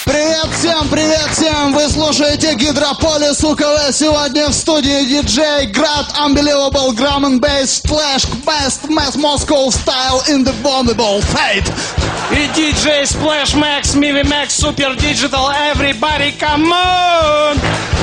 Привет всем! Вы слушаете Гидрополис УКВ. Сегодня в студии диджей Grad, Unbelievable Drum and Bass, Splash, Best Mass Moscow Style, Indomitable Fate. И диджей Splash Max, Mivi Max, Super Digital, Everybody come on!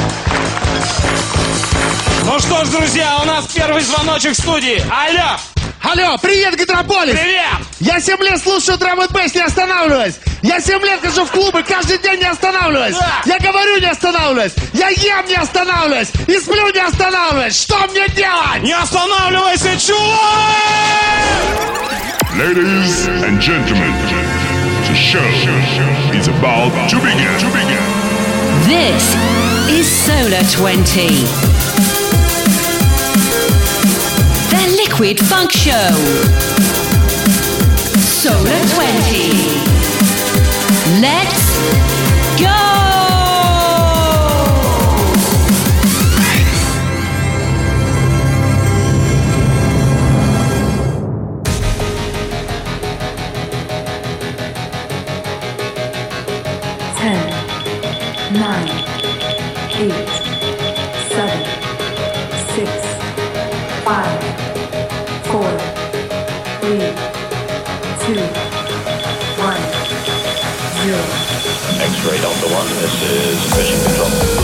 Ну что ж, друзья, у нас первый звоночек в студии. Алло! Алло, привет, Гидрополис! Привет! Я 7 лет слушаю драм н бейс, не останавливаюсь! Я 7 лет хожу в клубы, каждый день не останавливаюсь! Да. Я говорю, не останавливаюсь! Я ем, не останавливаюсь! И сплю, не останавливаюсь! Что мне делать? Не останавливайся, чувак! Ladies and gentlemen, the show is about to begin. This is Solar 20. The Liquid Funk Show. Solar 20. Let's go! Nine, 8, 7, 6, 5, 4, 3, 2, 1, 0. X-ray Delta 1, this is Mission Control.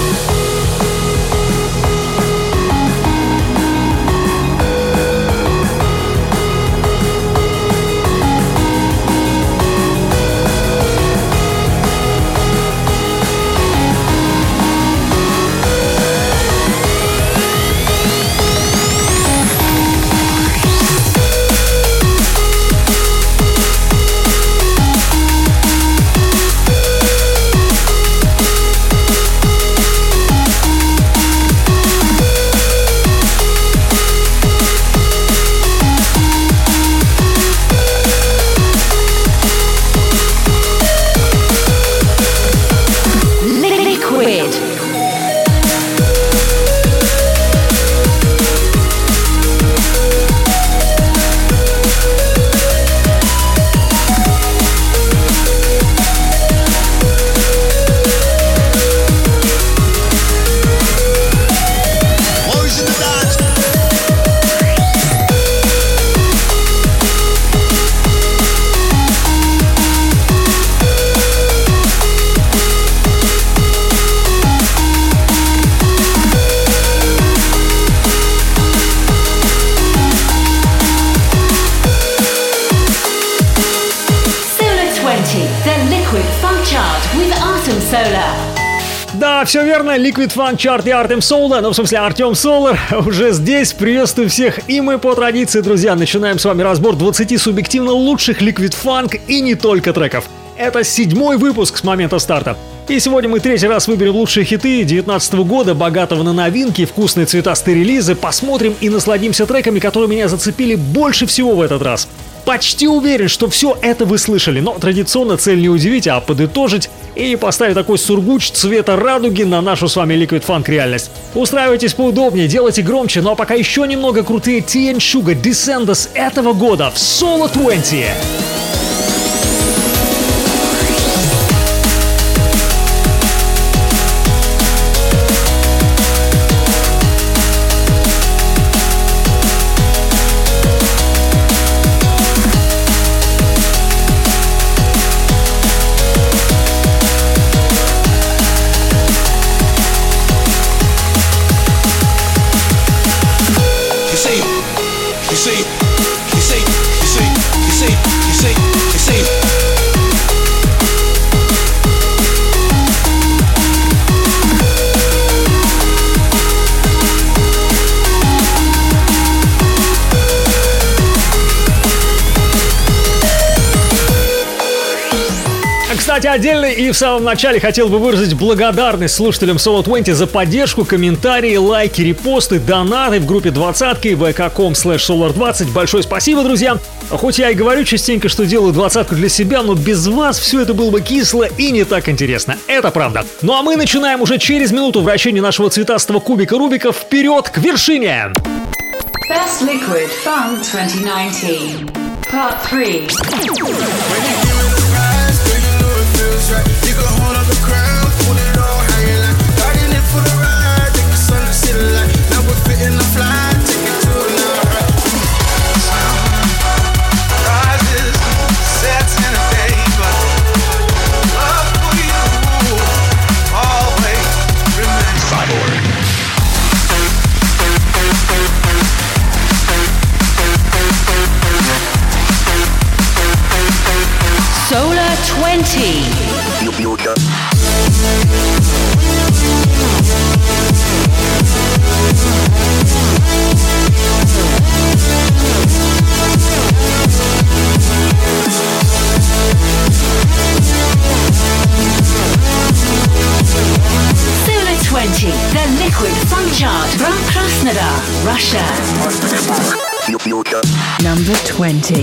Да, все верно, Liquid Funk Chart и Артем Solar, ну в смысле Артем Solar уже здесь, приветствую всех, и мы по традиции, друзья, начинаем с вами разбор 20 субъективно лучших Liquid Funk и не только треков. Это 7-й выпуск с момента старта. И сегодня мы 3-й раз выберем лучшие хиты 2019 года, богатого на новинки, вкусные цветастые релизы, посмотрим и насладимся треками, которые меня зацепили больше всего в этот раз. Почти уверен, что все это вы слышали, но традиционно цель не удивить, а подытожить и поставить такой сургуч цвета радуги на нашу с вами Liquid Funk реальность. Устраивайтесь поудобнее, делайте громче, ну а пока еще немного крутые TN Sugar Descendants этого года в Solar 20. Кстати, отдельно и в самом начале хотел бы выразить благодарность слушателям Solar 20 за поддержку, комментарии, лайки, репосты, донаты в группе двадцатки vk.com/solar20. Большое спасибо, друзья! Хоть я и говорю частенько, что делаю двадцатку для себя, но без вас все это было бы кисло и не так интересно. Это правда. Ну а мы начинаем уже через минуту вращения нашего цветастого кубика Рубика вперед к вершине! Best Liquid Funk 2019 Part 3. Right, you can hold on The Liquid Funk Chart from Krasnodar, Russia. Number 20.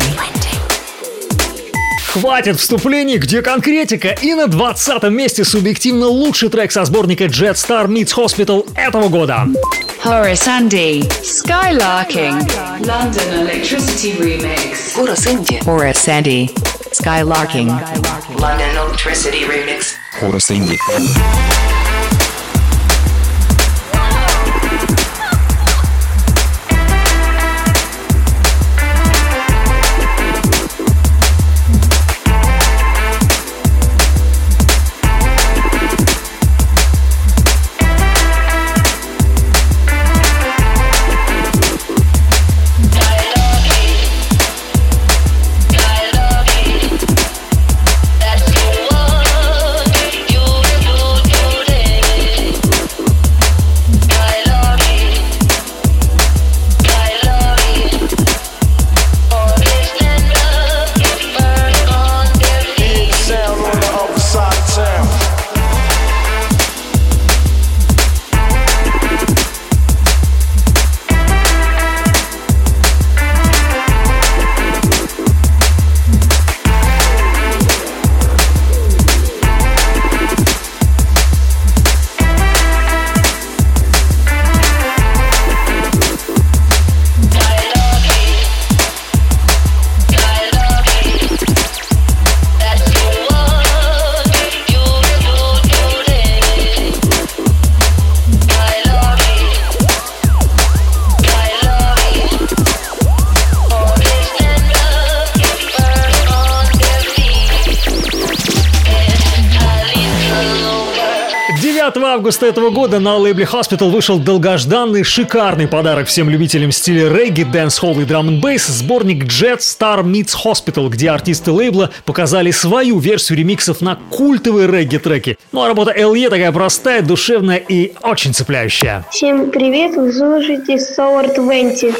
Хватит вступлений, где конкретика? И на 20-м месте субъективно лучший трек со сборника Jetstar Meets Hospital этого года. Horace Andy, Skylarking, London Electricity Remix. Horace Andy, Skylarking, London Electricity Remix. Horace Andy. Августа этого года на лейбле Hospital вышел долгожданный, шикарный подарок всем любителям стиля регги, дэнс-холл и драм-н-бейс — сборник Jetstar Meets Hospital, где артисты лейбла показали свою версию ремиксов на культовые регги-треки. Ну а работа LE такая простая, душевная и очень цепляющая. Всем привет, вы слушаете Solar 20.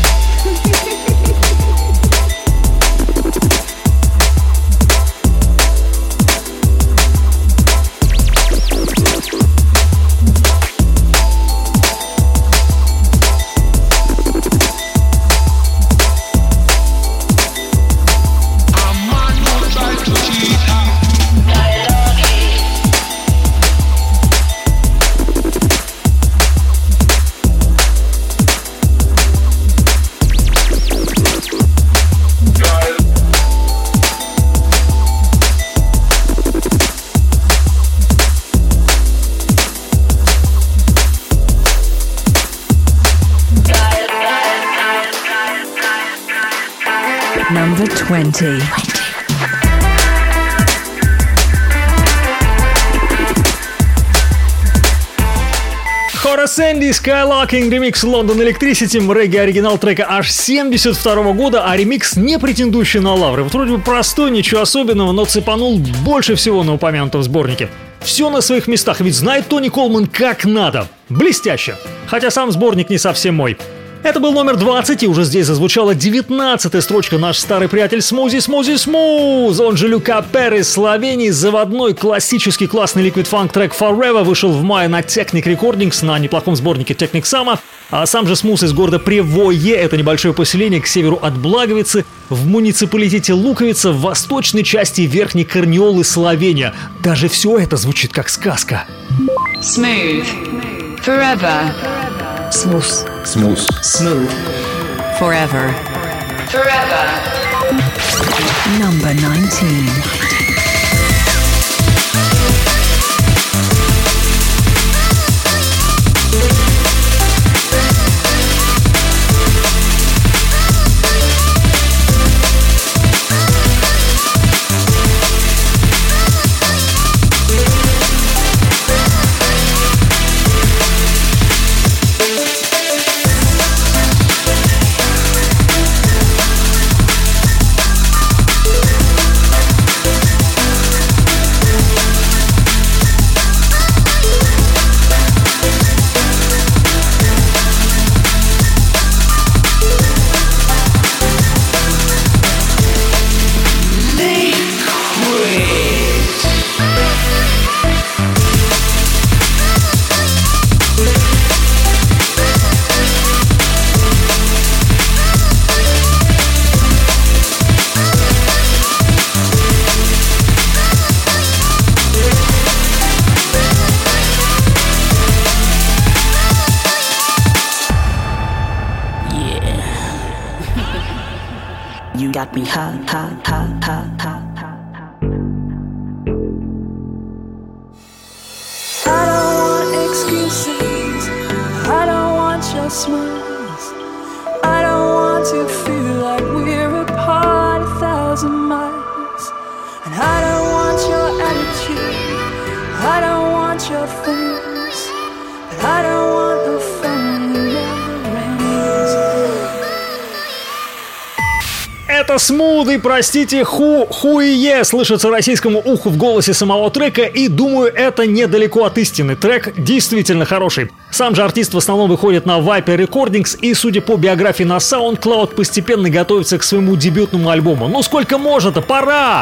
Number 20. Horace Andy, Skylarking, ремикс London Electricity, регги-оригинал трека аж 72 года, а ремикс, не претендующий на лавры. Вот вроде бы простой, ничего особенного, но цепанул больше всего на упомянутом сборнике. Все на своих местах, ведь знает Тони Колман как надо. Блестяще. Хотя сам сборник не совсем мой. Это был номер 20, и уже здесь зазвучала 19-я строчка. Наш старый приятель Смузи, он же Люка Перри из Словении. Заводной классический классный ликвид-фанк трек Forever вышел в мае на Technic Recordings на неплохом сборнике Technic Sama. А сам же Смуз из города Привое, это небольшое поселение к северу от Благовицы, в муниципалитете Луковица, в восточной части Верхней Корниолы, Словения. Даже все это звучит как сказка. Smooth. Forever. Smooth. Forever. Number 19. wine got me hot, hot, hot, hot, hot, hot. I don't want excuses. I don't want your smiles. I don't want to feel like we're apart 1,000 miles. And I don't want your attitude. I don't want your things. But I don't want a phone that never rings. Это Smooth и, простите, Хуие слышится российскому уху в голосе самого трека, и думаю, это недалеко от истины. Трек действительно хороший. Сам же артист в основном выходит на Viper Recordings и, судя по биографии на SoundCloud, постепенно готовится к своему дебютному альбому. Ну сколько можно-то? Пора!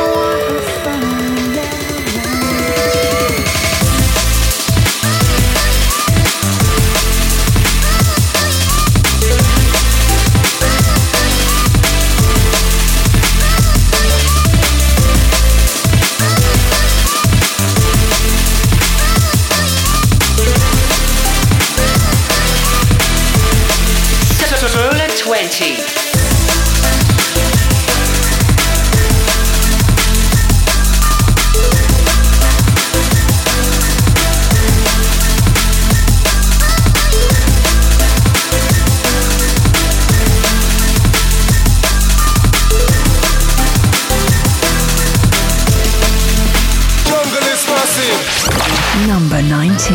Number 19.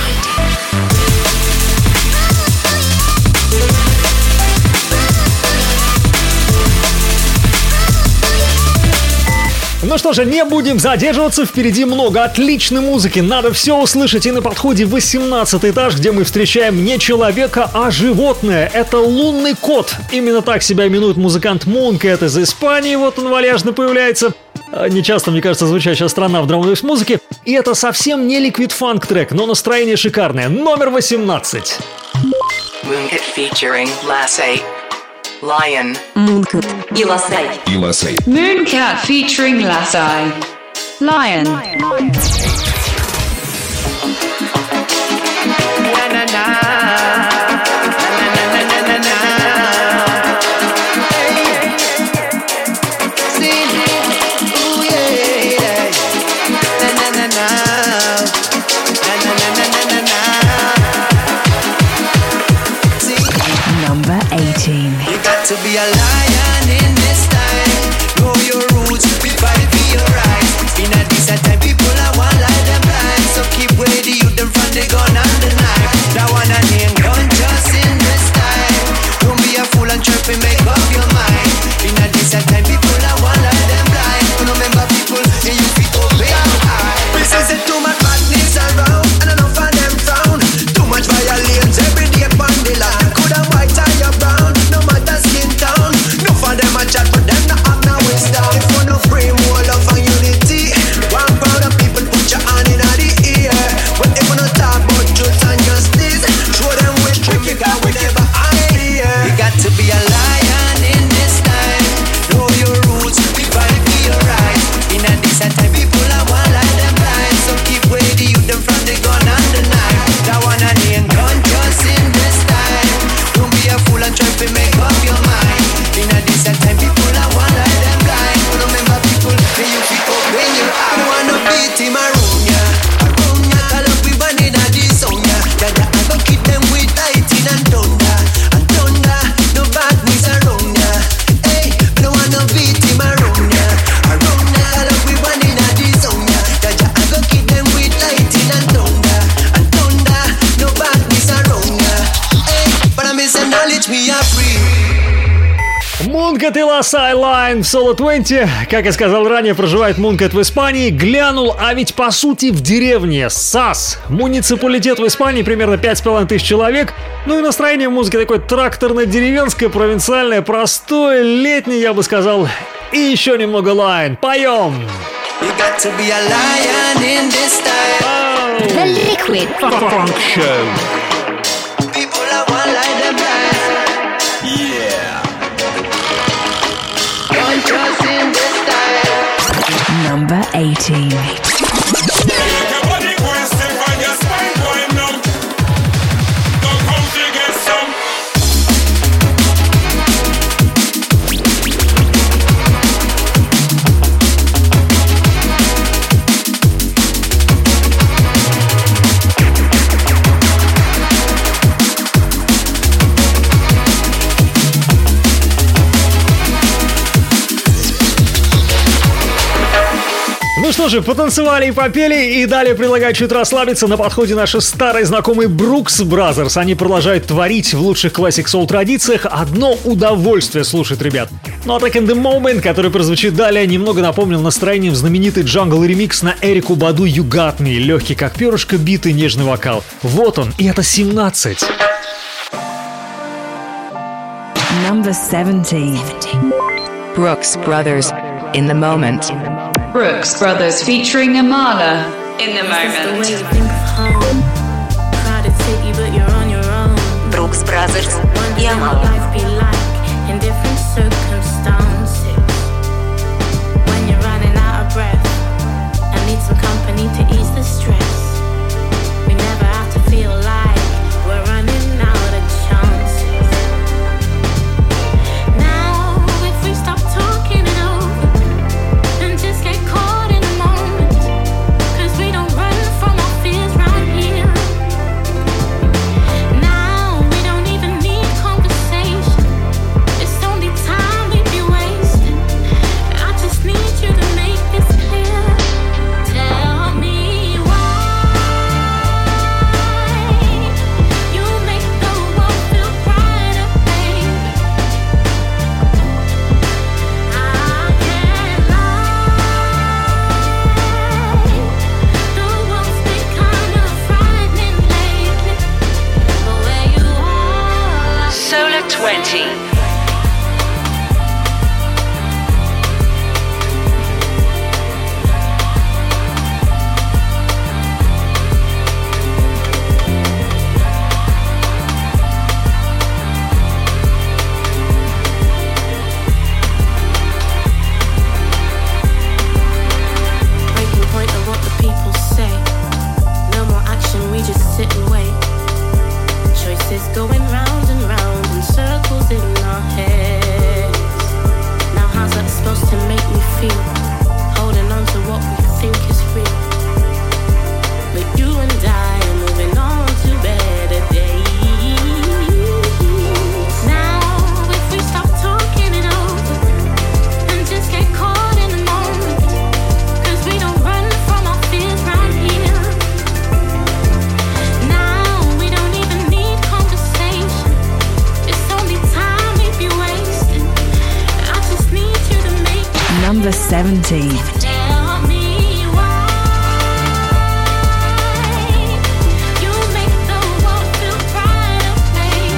Ну что же, не будем задерживаться, впереди много отличной музыки, надо все услышать, и на подходе 18 этаж, где мы встречаем не человека, а животное. Это лунный кот, именно так себя именует музыкант Mooncat из Испании, вот он вальяжно появляется. Нечасто, мне кажется, звучащая страна в драм-н-бейс музыке, и это совсем не Liquid Funk трек, но настроение шикарное. Номер 18. Mooncat featuring Lassie. Lion. Mooncat. Ilasai. Mooncat featuring Lassie. Lion. Number 18. You got to be a lion in this time. Know your roots, be fight for your rights. In a decent time, people are one like them blind. So keep away the youth them from the gun and the knife. That one a name gun just in this time. Don't be a fool and try to make up your mind. In a decent time, people are one like them blind. Remember people, and you fit obey and hide. This is it, too much badness around, and enough of them frown. Too much violence every day upon the land. Could have white and your brown, no matter skin tone. No for them a chat, but them not have no wisdom. If you no pray more love and unity, one crowd of people put your hand in the ear. Whenever no talk about truth and justice, show them which trick you got whenever I hear. You got to be a lion in this time. Know your roots, be fight for your rights. In a decent time, people are one like them blind. So keep away the youth them from the gun and the knife. That one a name gun just in this time. Don't be a fool and try to make up your mind. In a decent time, people are one like them blind. Remember people, they you pick up when you are. I don't wanna beat him around ya. Around ya, call up we burn in a this song ya. Jaja, I go keep them with lightning and thunder. And thunder, no badness around ya. Hey, I don't wanna beat him around ya. Around ya, call up we burn in a this song ya. Jaja, I go keep them with lightning and thunder. And thunder, no badness around ya. Hey, but I miss a knowledge me a free. Mooncat и Lassie Lion в Solo 20. Как я сказал ранее, проживает Mooncat в Испании. Глянул, а ведь по сути в деревне САС. Муниципалитет в Испании, примерно 5500 человек. Ну и настроение музыки такое тракторно-деревенское, провинциальное, простое, летнее, я бы сказал. И еще немного Lion. Поем! You got to be a lion in this time. The Liquid Funk Show. People are one like them blind. Yeah. Don't trust in this time. Number 18. что же, потанцевали и попели, и далее предлагаю чуть расслабиться. На подходе наши старые знакомые Brooks Brothers. Они продолжают творить в лучших Classic Soul традициях. Одно удовольствие слушать, ребят. Ну а так In The Moment, который прозвучит далее, немного напомнил настроением знаменитый джангл ремикс на Эрику Баду You Got Me. Легкий как перышко, битый нежный вокал. Вот он, и это 17. Number 17. Brooks Brothers, In The Moment. Brooks Brothers featuring Amala, In The Moment. Brooks Brothers и Amala. Some company to ease the stress. We never have to feel like we're running out of chances. Now, if we stop talking it over and just get caught in the moment, 'cause we don't run from our fears round here. Now, we don't even need conversation. It's only time we'd be wasting. I just need you to make this clear. Tell me why you make the world feel brighter, baby. I can't lie. The world's been kind of frightening lately, but where you are, Solar 20. breaking point of what the people say. No more action, we just sit and wait. Choices going round and round in circles in our heads. Now how's that supposed to make me feel? Holding on to what we think is real. But you and I are moving on to better days. Now if we stop talking it over and just get caught in the moment, 'cause we don't run from our fears round here. Now we don't even need conversation. It's only time we'd be wasting. I just need you to make Number 17. tell me why you make the world feel brighter, baby.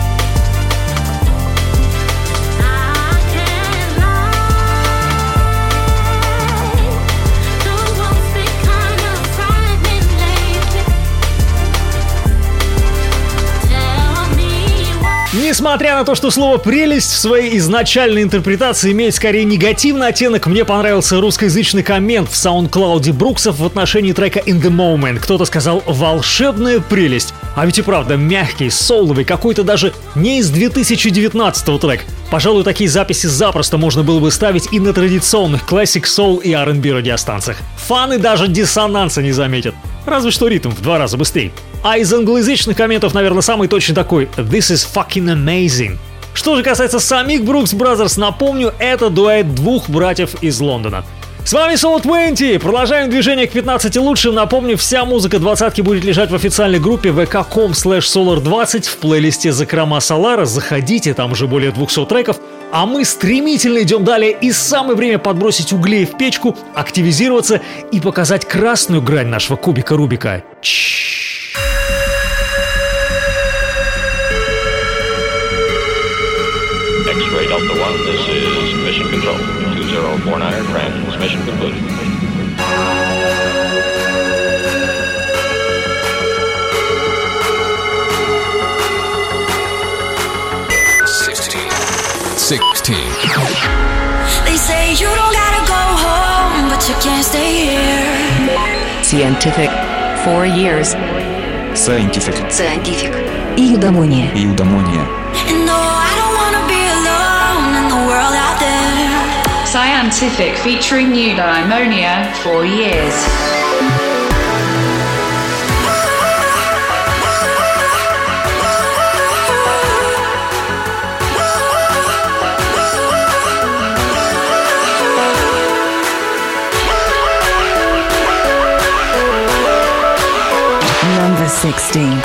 I can't lie. The world's been kind of frightening lately. Tell me why. Несмотря на то, что слово «прелесть» в своей изначальной интерпретации имеет скорее негативный оттенок, мне понравился русскоязычный коммент в SoundCloud Бруксов в отношении трека In The Moment. Кто-то сказал «волшебная прелесть». А ведь и правда, мягкий, соуловый, какой-то даже не из 2019-го трек. Пожалуй, такие записи запросто можно было бы ставить и на традиционных Classic Soul и R&B радиостанциях. Фаны даже диссонанса не заметят. Разве что ритм в 2 раза быстрее. А из англоязычных комментов, наверное, самый точный такой «This is fucking amazing». Что же касается самих Brooks Brothers, напомню, это дуэт двух братьев из Лондона. С вами Soul 20, продолжаем движение к 15 лучшим. Напомню, вся музыка двадцатки будет лежать в официальной группе vk.com/solar20 в плейлисте «Закрома Солара». Заходите, там уже более 200 треков. А мы стремительно идем далее, и самое время подбросить углей в печку, активизироваться и показать красную грань нашего кубика Рубика. X-ray Delta One, this is Mission Control. 2049, transmission concluded. They say you don't gotta go home, but you can't stay here. Scientific, 4 years. Scientific. Иудамония. And no, I don't wanna be alone in the world out there. Scientific featuring Eudaimonia, 4 years. 16.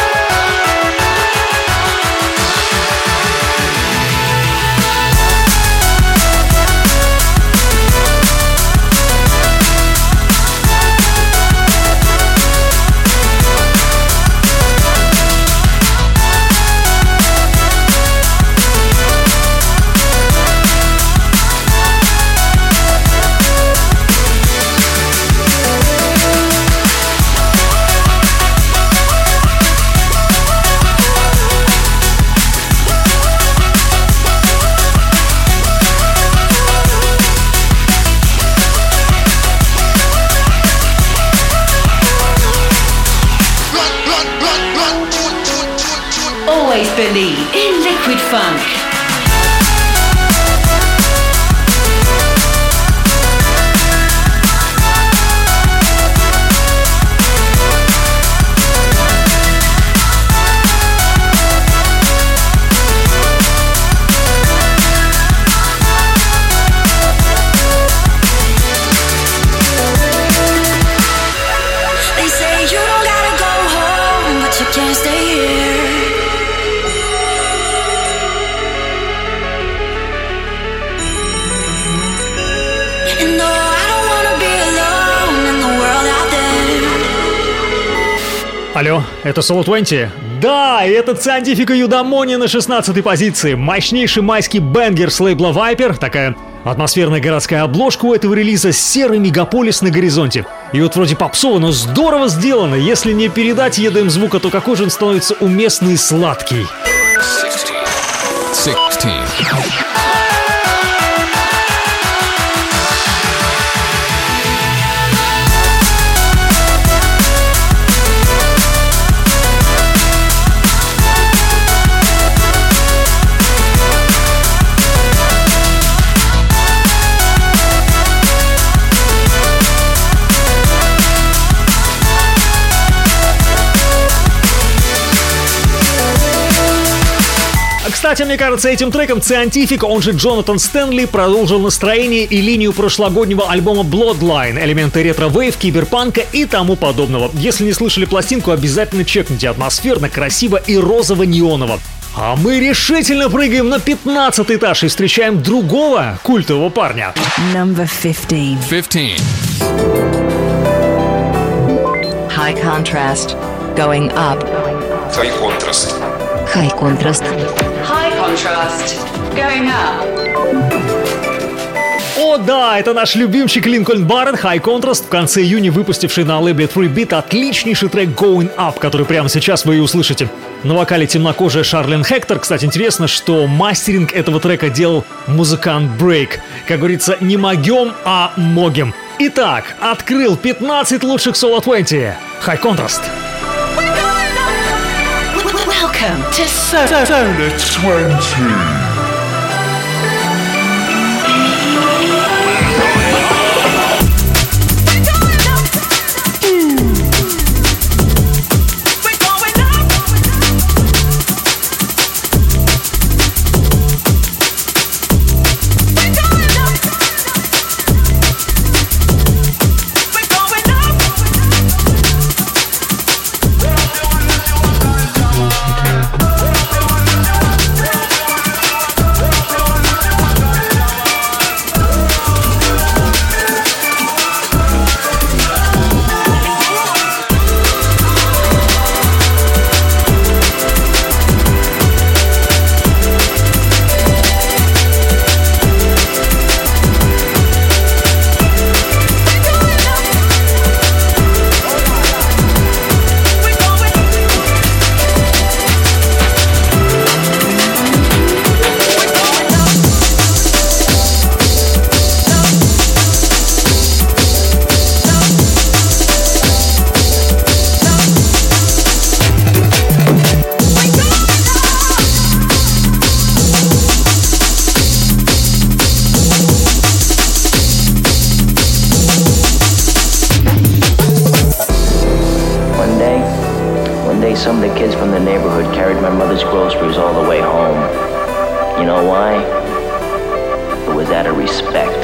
Always believe in Liquid Funk. They say you don't gotta go home, but you can't stay here. And no, I don't wanna be alone in the world out there. Алло, это Solo 20? Да, это Scientific Eudaimonia на 16-й позиции. Мощнейший майский бенгер с лейбла Viper. Такая атмосферная городская обложка у этого релиза, серый мегаполис на горизонте. И вот вроде попсово, но здорово сделано. Если не передать EDM звука, то какой же он становится уместный и сладкий. 16. Кстати, мне кажется, этим треком Scientific, он же Джонатан Стэнли, продолжил настроение и линию прошлогоднего альбома Bloodline, элементы ретро-вейв, киберпанка и тому подобного. Если не слышали пластинку, обязательно чекните. Атмосферно, красиво и розово-неоново. А мы решительно прыгаем на 15 этаж и встречаем другого культового парня. Number 15. 15. High contrast. Going up. High contrast. High contrast. High contrast. Going up. О да, это наш любимчик Линкольн Барретт, High Contrast, в конце июня выпустивший на лейбле 3-Bit отличнейший трек Going Up, который прямо сейчас вы и услышите. На вокале темнокожая Шарлин Хектор. Кстати, интересно, что мастеринг этого трека делал музыкант Break. Как говорится, не могем, а могем. Итак, открыл 15 лучших Solo 20. High Contrast. Welcome to Solo 20. Some of the kids from the neighborhood carried my mother's groceries all the way home. You know why? It was out of respect.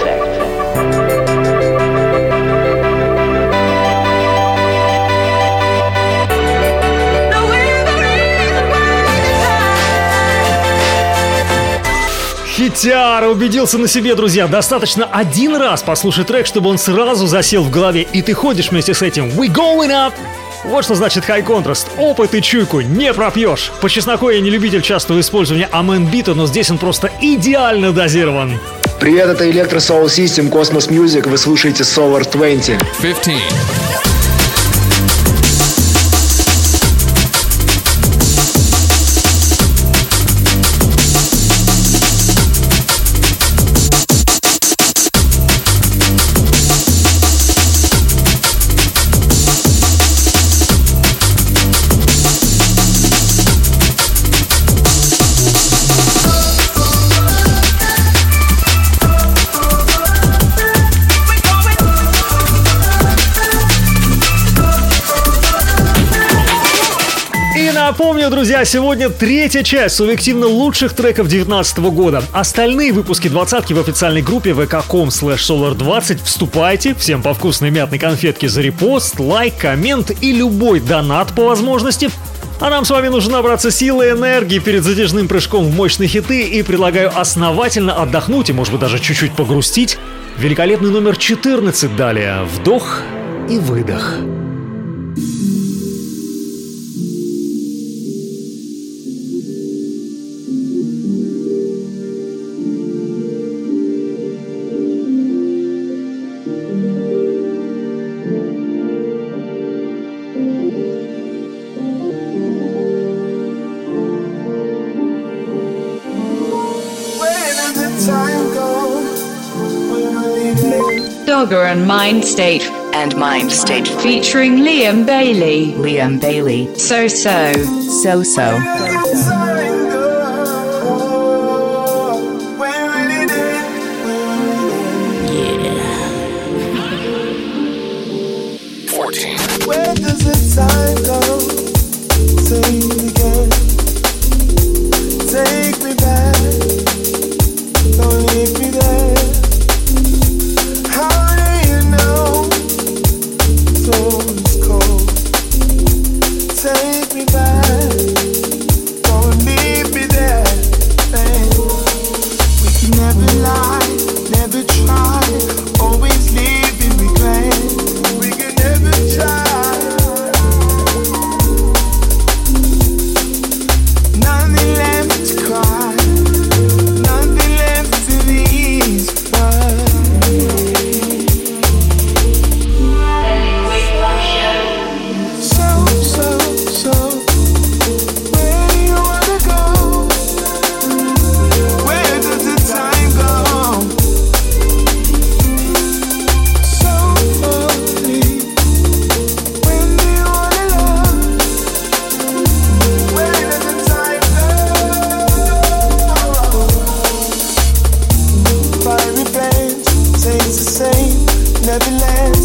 Гитара! Убедился на себе, друзья. Достаточно один раз послушать трек, чтобы он сразу засел в голове, и ты ходишь вместе с этим. We going up! Вот что значит high contrast. Опыт и чуйку не пропьешь. По чесноку я не любитель частого использования амен-бита, но здесь он просто идеально дозирован. Привет, это Electro Soul System, Cosmos Music, вы слушаете Solar 20. 15. Напомню, друзья, сегодня третья часть субъективно лучших треков 2019 года. Остальные выпуски двадцатки в официальной группе vk.com/solar20. Вступайте, всем по вкусной мятной конфетке за репост, лайк, коммент и любой донат по возможности. А нам с вами нужно набраться силы и энергии перед затяжным прыжком в мощные хиты, и предлагаю основательно отдохнуть и, может быть, даже чуть-чуть погрустить. Великолепный номер 14 далее. Вдох и выдох. Dogger and Mind State. And Mind State. Featuring Liam Bailey. Liam Bailey. So. Where does the time go? Say it again. Take me back. Don't leave me there. How do you know? So it's cold. Take me back. Don't leave me there. We can never lie, never try. Always leave in regret. We can never try. Nothing left to cry, nothing left to ease. So, where do you wanna go? Where does the time go? So fully. When do you wanna love? Where does the time go? Fiery flames, tastes the same, never less.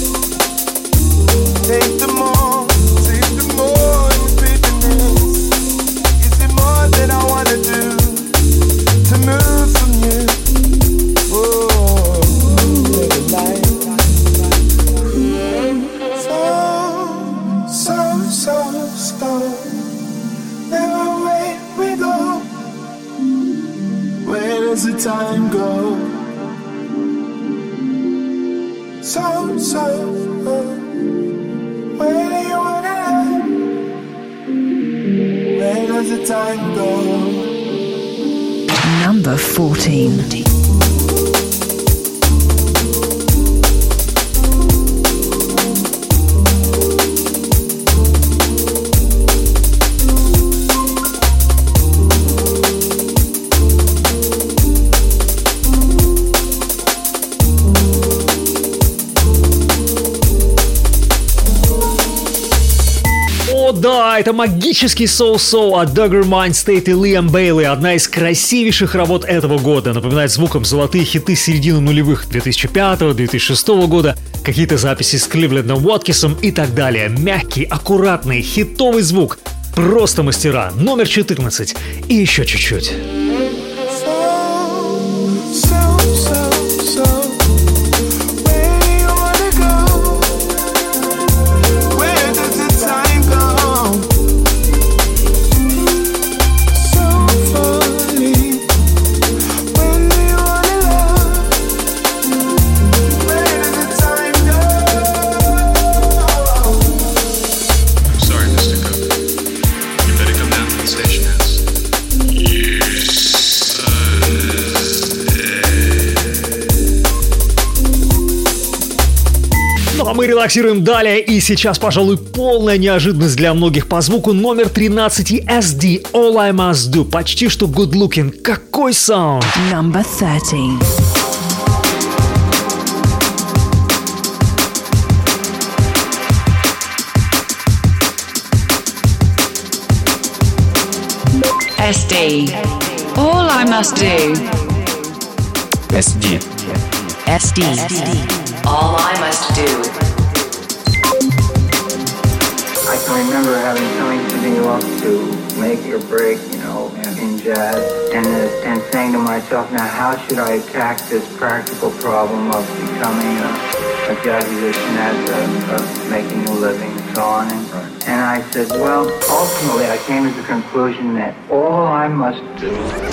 Take the more in bitterness. Is it more that I wanna do to move from you? Whoa, never lie. So, never where we go. Where does the time go? So, where do you wanna go? Where does the time go? Number 14. Да, это магический соу-соу от Dogger Mind State и Liam Bailey, одна из красивейших работ этого года. Напоминает звуком золотые хиты середины нулевых 2005-2006 года, какие-то записи с Кливлендом Уоткинсом и так далее. Мягкий, аккуратный, хитовый звук. Просто мастера. Номер 14. И еще чуть-чуть. Where релаксируем далее. И сейчас, пожалуй, полная неожиданность для многих по звуку. Номер 13 SD All I Must Do. Почти что good looking. Какой саунд? Number 13. SD. All I Must Do. SD. SD. All I Must Do. I can remember having something to do up to make or break, you know, in jazz, and saying to myself, now how should I attack this practical problem of becoming a jazz musician as making a living and so on. And I said, well, ultimately I came to the conclusion that all I must do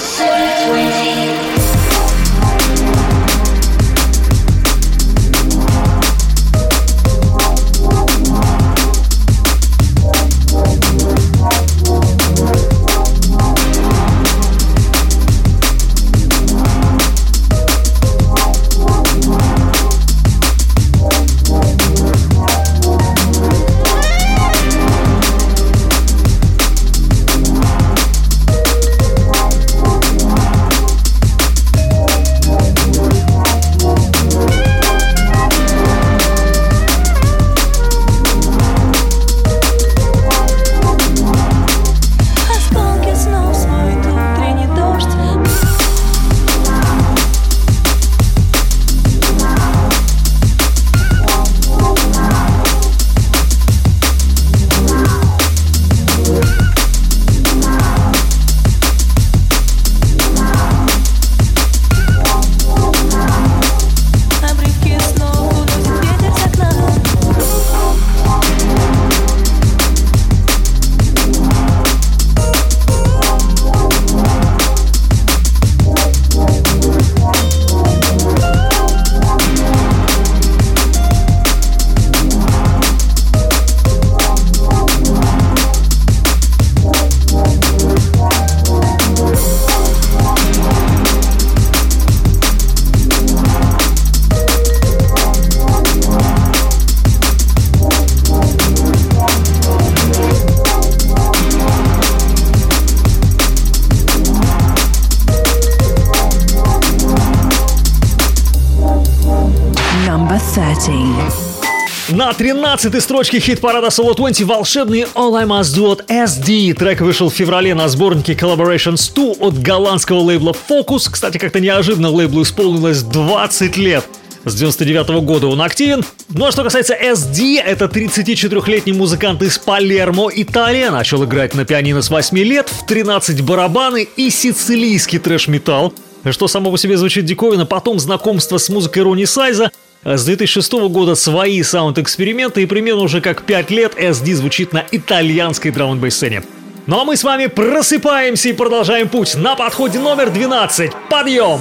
На 13-й строчке хит-парада Solo 20 волшебный All I Must Do от SD. Трек вышел в феврале на сборнике Collaborations 2 от голландского лейбла Focus. Кстати, как-то неожиданно лейблу исполнилось 20 лет. С 99-го года он активен. Ну а что касается SD, это 34-летний музыкант из Палермо, Италия. Начал играть на пианино с 8 лет, в 13 барабаны и сицилийский трэш-металл. Что само по себе звучит диковинно. Потом знакомство с музыкой Ронни Сайза. С 2006 года свои саунд-эксперименты, и примерно уже как 5 лет SD звучит на итальянской драм-н-бейс-сцене. Ну а мы с вами просыпаемся и продолжаем путь. На подходе номер 12. Подъем!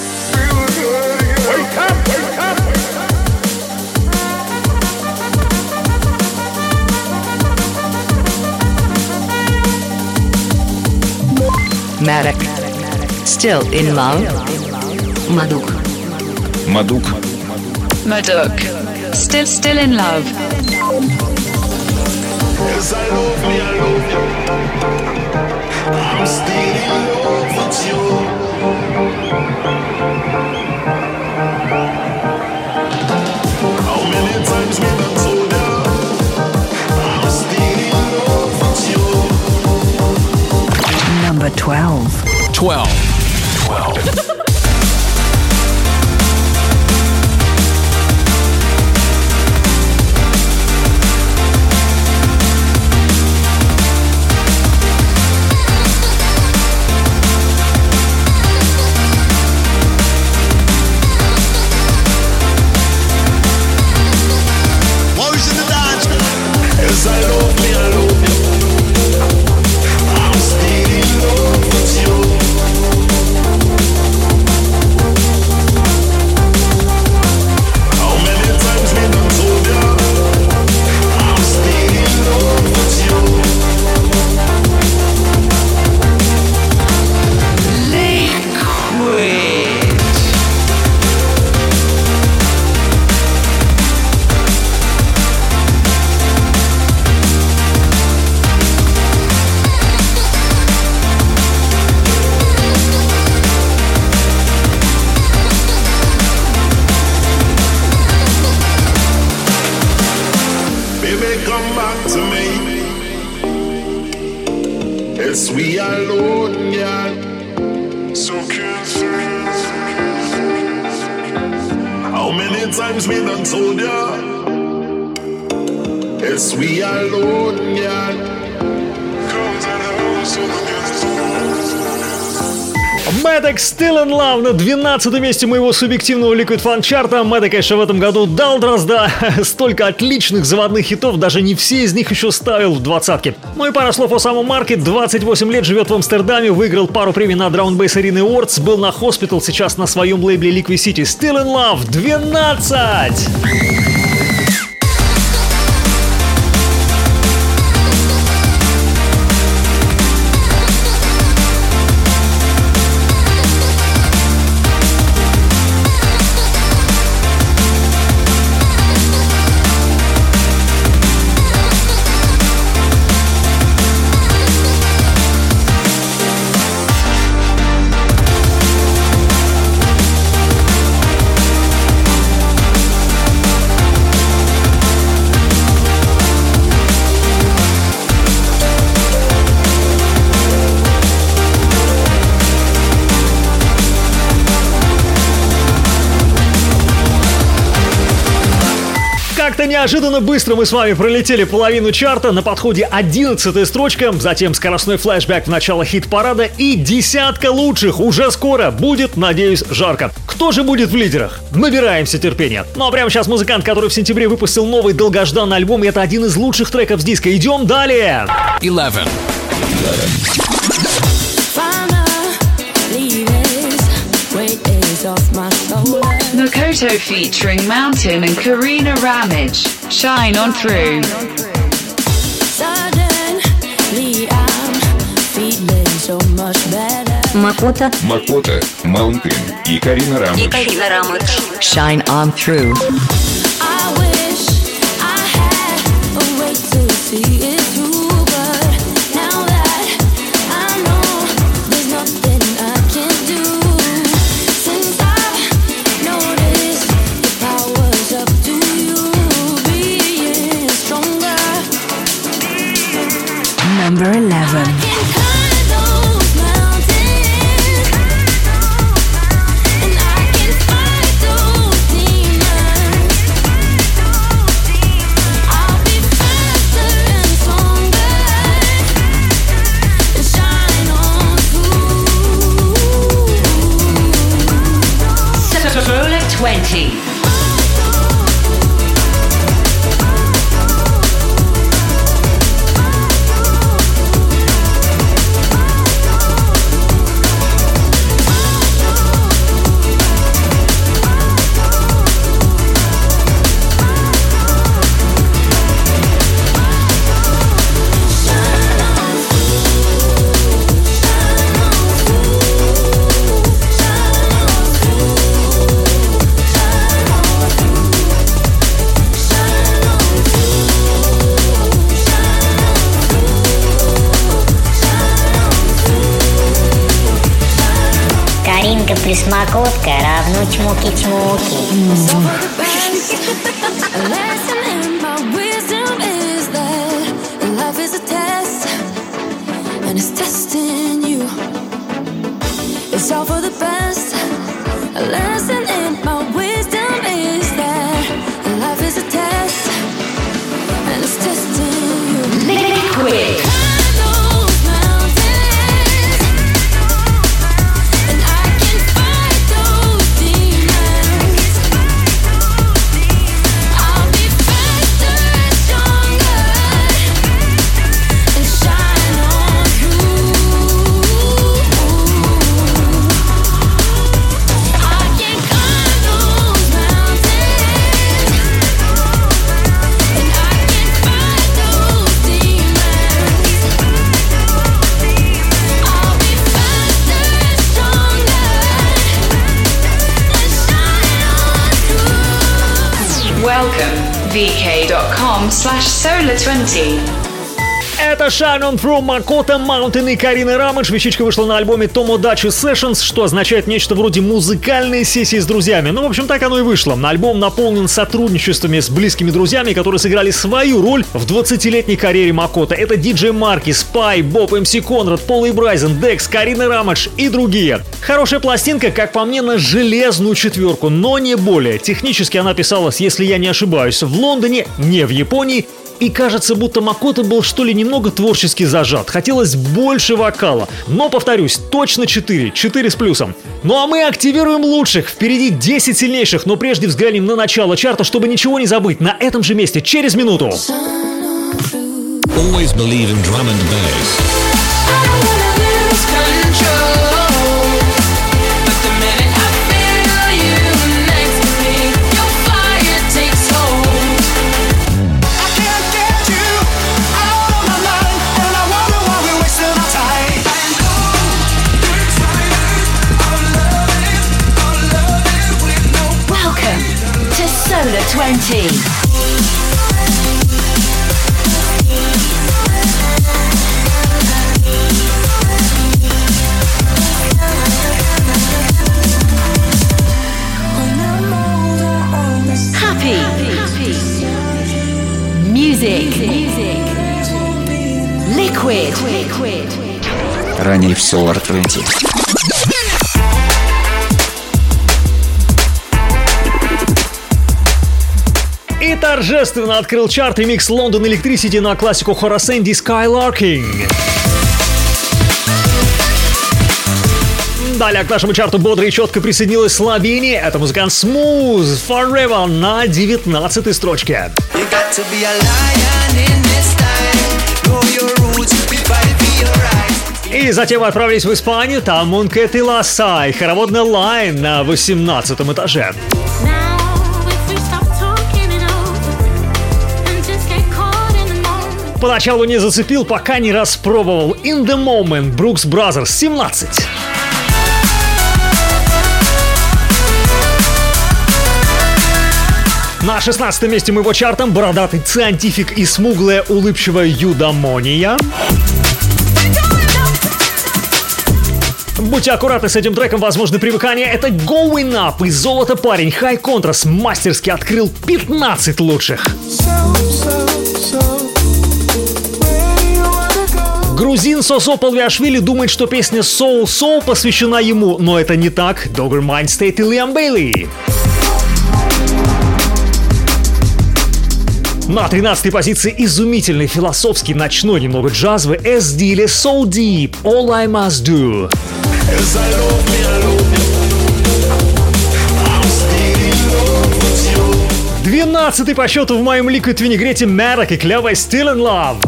Matic. Still in love. Maduk. Maduk. Maduk. Still in love. Yes, I love me, I love you. I'm still in love with you. How many times we done told you? I'm still in love with you. Number 12. 12. Yes, I love me, I love you. I'm still in love with you. Yes, we are alone, yeah. So carefree. How many times we done told ya? Yes, we are alone, yeah. Мэддок Still in Love на 12-м месте моего субъективного Liquid Fun чарта. Мэддок, конечно, в этом году дал дрозда. Столько отличных заводных хитов, даже не все из них еще ставил в двадцатке. Ну и пара слов о самом Марке. 28 лет, живет в Амстердаме, выиграл пару премий на Drum & Bass Arena Awards, был на Hospital, сейчас на своем лейбле Liquid City. Still in Love 12! Как-то неожиданно быстро мы с вами пролетели половину чарта, на подходе 11-я строчка, затем скоростной флешбэк в начало хит-парада и десятка лучших уже скоро. Будет, надеюсь, жарко. Кто же будет в лидерах? Набираемся терпения. Ну а прямо сейчас музыкант, который в сентябре выпустил новый долгожданный альбом, и это один из лучших треков с диска. Идем далее. 11. Makoto featuring Mountain and Karina Ramage. Shine on through. Макото, Маунтин и Карина Рамадж. Shine on through. Number 11. Solar 20. Каринка плюс Макотка равно чмоки-чмоки. It's all for the best. A lesson in my wisdom is that life is a test, and it's testing you. Liquid. Welcome, vk.com/solar20. Это Shine On Through, Макота, Mountain и Карина Рамадж. Вещичка вышла на альбоме Tomodachi Sessions, что означает нечто вроде музыкальной сессии с друзьями. Ну, в общем, так оно и вышло. Альбом наполнен сотрудничествами с близкими друзьями, которые сыграли свою роль в 20-летней карьере Макота. Это диджей Марки, Спай, Боб, МС Конрад, Пол и Брайзен, Декс, Карина Рамадж и другие. Хорошая пластинка, как по мне, на железную четверку, но не более. Технически она писалась, если я не ошибаюсь, в Лондоне, не в Японии. И кажется, будто Макота был что ли немного творчески зажат. Хотелось больше вокала. Но, повторюсь, точно 4 с плюсом. Ну а мы активируем лучших. Впереди 10 сильнейших, но прежде взглянем на начало чарта, чтобы ничего не забыть. На этом же месте через минуту. Always believe in drum and bass. Solar 20. Happy. Music. Liquid. Ранее в Solar 20. И торжественно открыл чарт ремикс London Electricity на классику Хорасенди Skylarking. Далее к нашему чарту бодро и четко присоединилась Словения. Это музыкант Smooth Forever на 19-й строчке. И затем мы отправились в Испанию. Там Мункет и Ласай. Хороводная Лайн на 18-м этаже. Поначалу не зацепил, пока не распробовал. In the Moment, Brooks Brothers, 17. На 16 месте моего чарта бородатый Scientific и смуглая улыбчивая Юдамония. Будьте аккуратны с этим треком, возможно привыкание. Это Going Up и Золото парень. High Contrast мастерски открыл 15 лучших. Грузин Сосо Полвиашвили думает, что песня Soul Soul посвящена ему, но это не так. Dogger Mind State и Лиам Бейли. На 13-й позиции изумительный философский ночной немного джазовый SD или So Deep All I Must Do. 12-й по счету в моем Liquid винегрете Merrick и клевая Still in Love.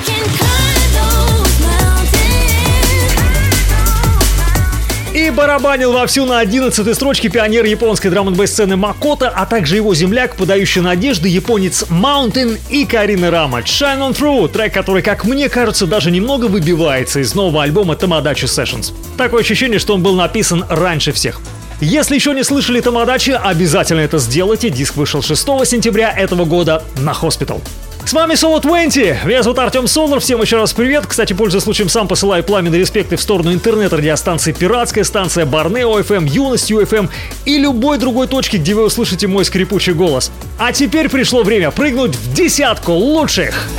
И барабанил вовсю на 11-й строчке пионер японской драм-н-бейс-сцены Макота, а также его земляк, подающий надежды, японец Mountain и Карина Рамадж. Shine On Through, трек, который, как мне кажется, даже немного выбивается из нового альбома Tomodachi Sessions. Такое ощущение, что он был написан раньше всех. Если еще не слышали Tomodachi, обязательно это сделайте. Диск вышел 6 сентября этого года на Hospital. С вами Solar 20, меня зовут Артем Солар, всем еще раз привет. Кстати, пользуясь случаем, сам посылаю пламенные респекты в сторону интернет-радиостанции «Пиратская станция», Борнео FM, Юность UFM и любой другой точки, где вы услышите мой скрипучий голос. А теперь пришло время прыгнуть в десятку лучших.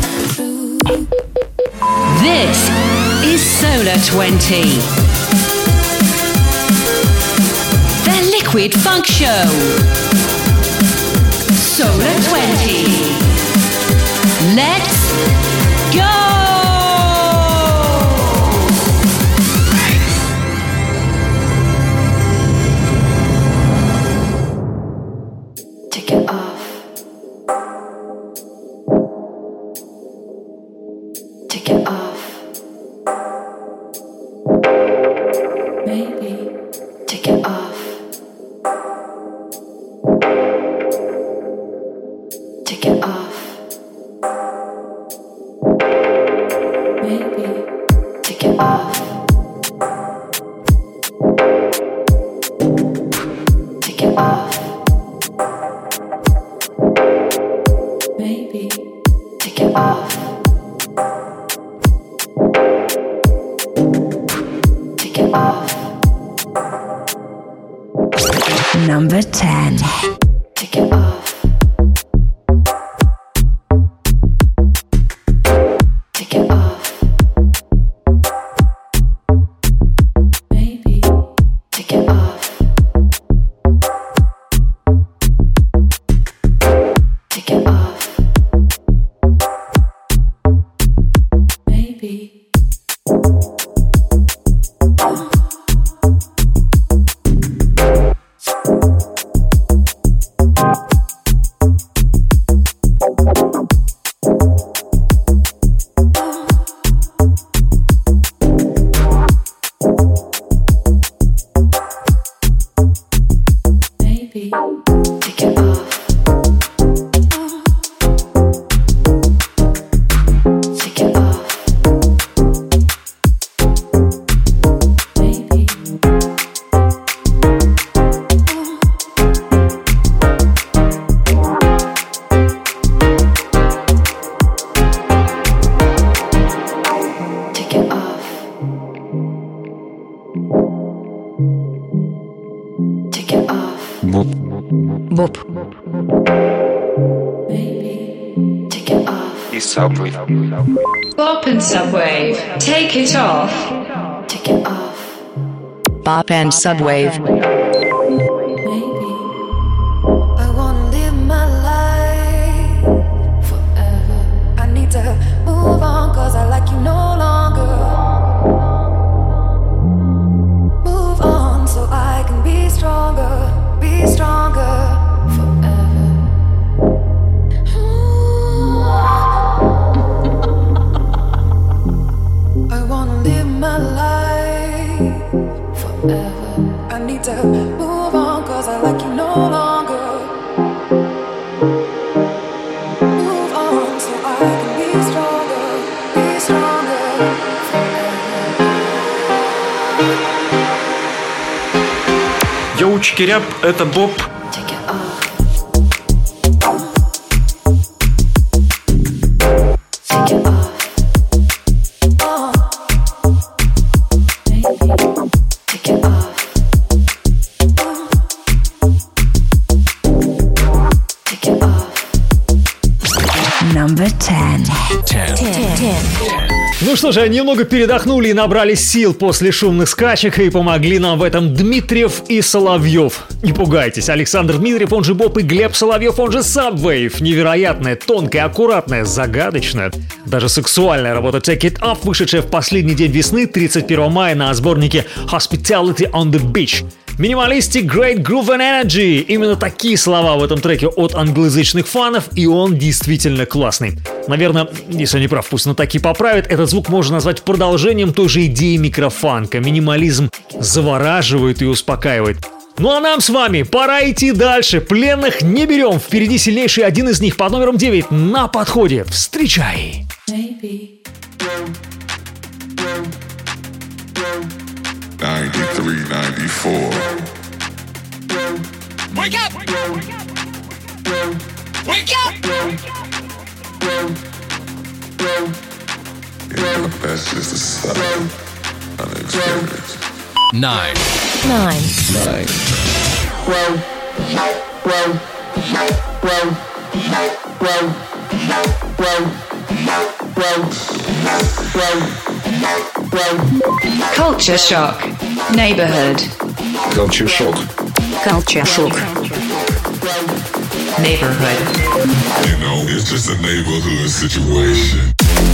This is Solar 20. The Liquid Funk Show. Solar 20. Let's go! Take it off. Take it off. Maybe take it off. Take it off. Take it off. Take it off. Maybe take it off. Number 10. Take it off. Take it off. Maybe. Take it off. Take it off. Maybe. Bob. Subwave. Bop and Subwave. Take it off. Take it off. Bop and Subwave. I wanna live my life forever. I need to move on, cause I like you no longer. Move on so I can be stronger forever. I wanna live my life forever. I need to move on, cause I like you no longer. Move on so I can be stronger Йоу, чикиряб, это Боб. Number 10. Ну что же, немного передохнули и набрались сил после шумных скачек, и помогли нам в этом Дмитриев и Соловьев. Не пугайтесь, Александр Дмитриев, он же Боб, и Глеб Соловьев, он же Subwave. Невероятная, тонкая, аккуратная, загадочная, даже сексуальная работа Take It Off, вышедшая в последний день весны, 31 мая, на сборнике Hospitality on the Beach. Minimalistic, Great Groove and Energy. Именно такие слова в этом треке от англоязычных фанов, и он действительно классный. Наверное, если я не прав, пусть на такие поправят, этот звук можно назвать продолжением той же идеи микрофанка. Минимализм завораживает и успокаивает. Ну а нам с вами пора идти дальше. Пленных не берем. Впереди сильнейший один из них под номером 9 на подходе. Встречай! Maybe. 93, 94. Wake up! Wake up! Yeah, that's just a sign of experience. 9. Culture shock. Neighborhood. Culture shock. Culture shock. Neighborhood. You know, it's just a neighborhood situation.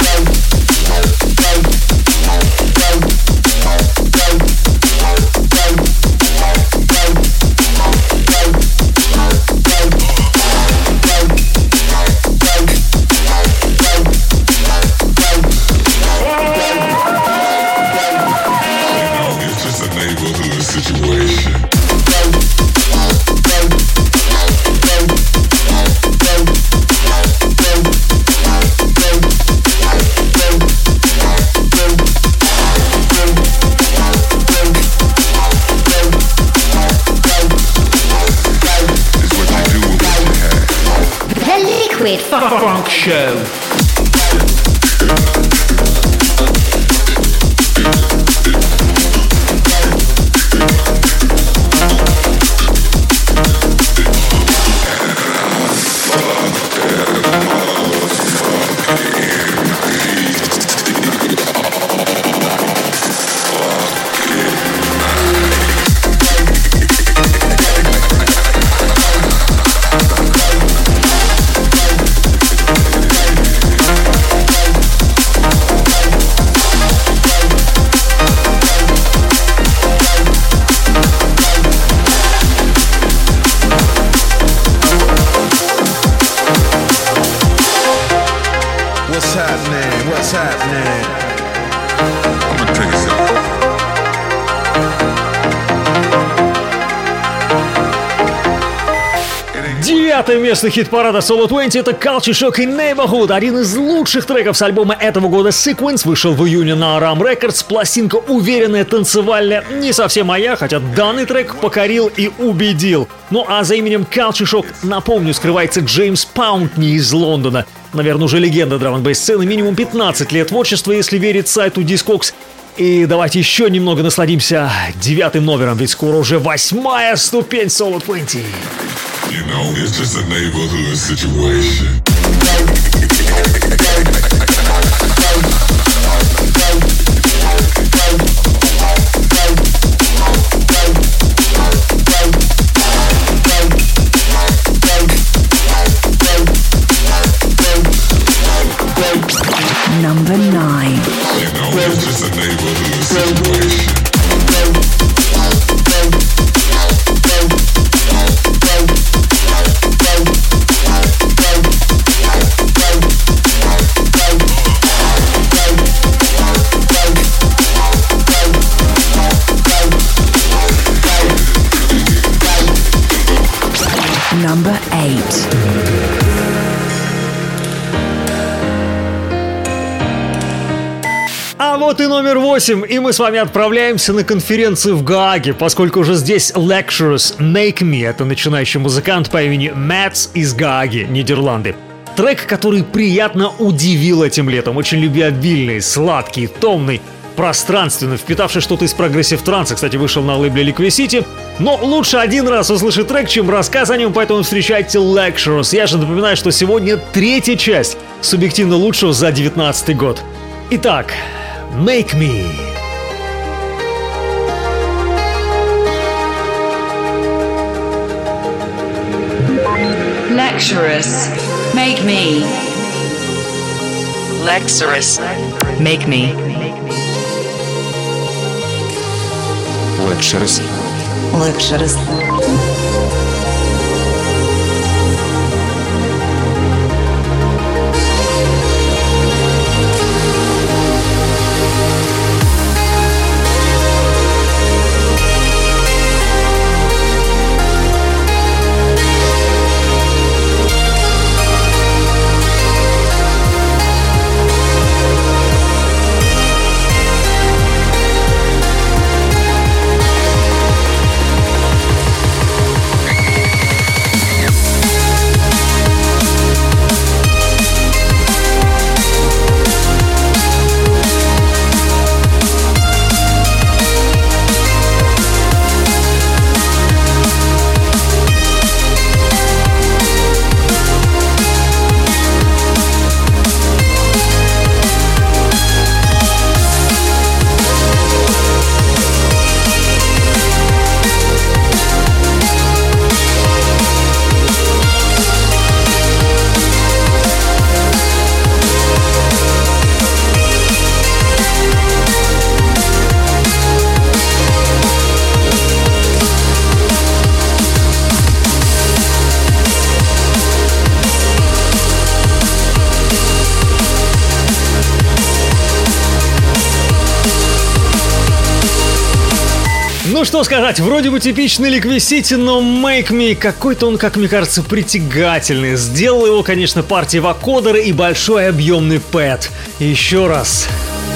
Funk Show. what's happening? What's happening? I'm gonna take a second. 9 место хит-парада Solo 20 — это Culture Shock и Neighborhood, один из лучших треков с альбома этого года Sequence, вышел в июне на Ram Records. Пластинка уверенная, танцевальная, не совсем моя, хотя данный трек покорил и убедил. Ну а за именем Culture Shock, напомню, скрывается Джеймс Паунтни из Лондона. Наверное, уже легенда драм-н-бейс-сцены, минимум 15 лет творчества, если верить сайту Discogs. И давайте еще немного насладимся 9 номером, ведь скоро уже 8-я ступень Solo 20. You know, it's just a neighborhood situation. Number 9. You know, it's just a neighborhood situation. Number 8. А вот и номер 8, и мы с вами отправляемся на конференцию в Гааге, поскольку уже здесь Lecturers Make Me, это начинающий музыкант по имени Мэтс из Гааги, Нидерланды. Трек, который приятно удивил этим летом, очень любвеобильный, сладкий, томный, пространственно, впитавший что-то из прогрессив транса, кстати, вышел на лейбле Liquid City. Но лучше один раз услышать трек, чем рассказ о нем, поэтому встречайте Lecturers. Я же напоминаю, что сегодня 3-я часть субъективно лучшего за 19 год. Итак, Make Me. Lecturers, make me. Lecturers, make me. Lecturers. Lecturers. Ну что сказать, вроде бы типичный Liquid City, но Make Me какой-то он, как мне кажется, притягательный. Сделал его, конечно, партия вокодера и большой объемный пэд. Еще раз.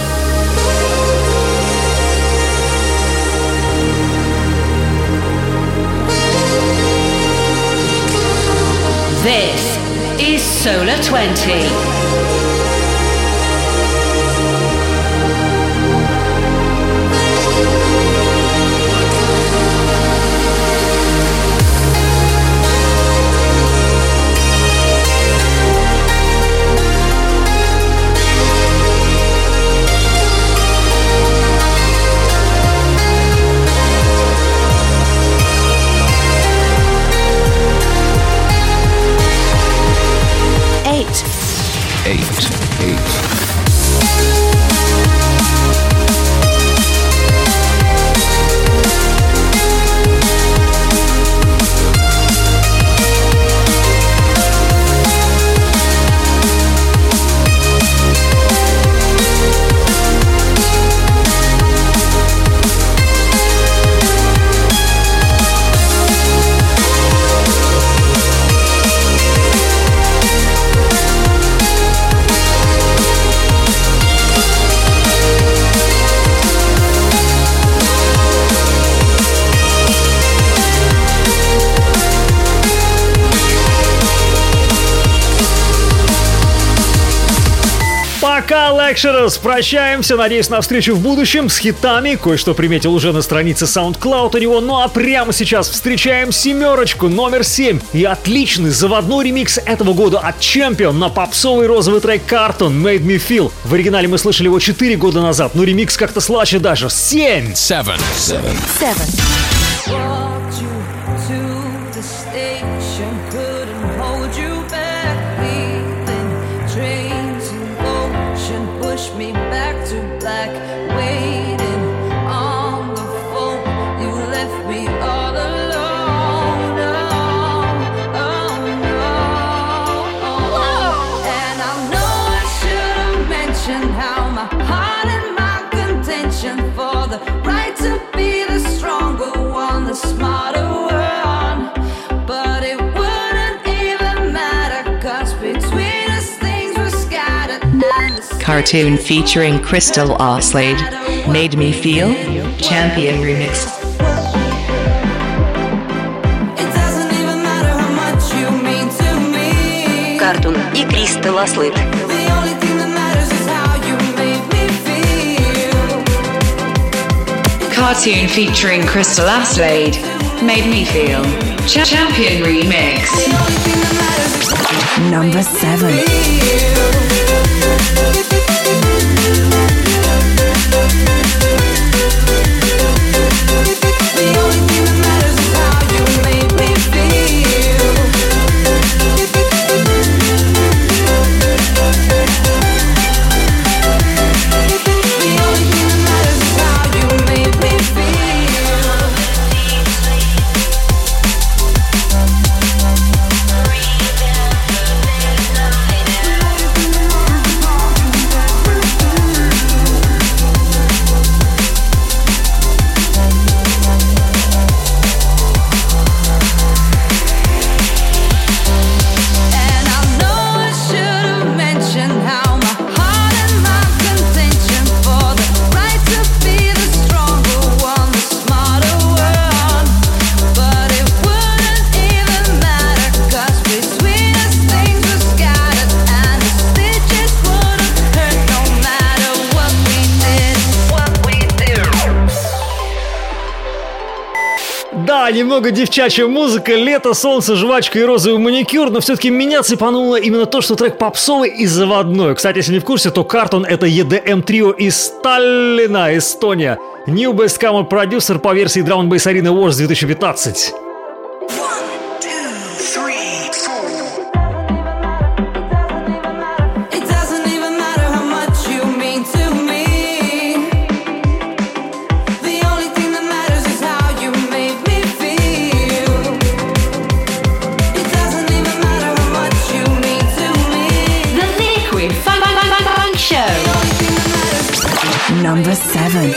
This is Solar 20. Пока, Lecturers! Прощаемся, надеюсь на встречу в будущем с хитами. Кое-что приметил уже на странице SoundCloud у него. Ну а прямо сейчас встречаем семерочку, номер 7. И отличный заводной ремикс этого года от Champion на попсовый розовый трек Cartoon Made Me Feel. В оригинале мы слышали его 4 года назад, но ремикс как-то слаще даже. 7! 7. Me back to black, waiting on the phone. You left me all alone. Oh no. And I know I should have mentioned how my heart and my contention for the right to be the stronger one, the smarter one. But it wouldn't even matter, 'cause between us things were scattered and Cartoon featuring Crystal Oslade, Made Me Feel, Champion Remix. Cartoon и Crystal Oslade. Cartoon featuring Crystal Oslade, Made Me Feel, Champion Remix. Number 7. Немного девчачья музыка, лето, солнце, жвачка и розовый маникюр, но все-таки меня цепануло именно то, что трек попсовый и заводной. Кстати, если не в курсе, то Cartoon — это EDM-трио из Таллина, Эстония. New Best Comer продюсер по версии Drum & Bass Arena Awards 2015. Number 7.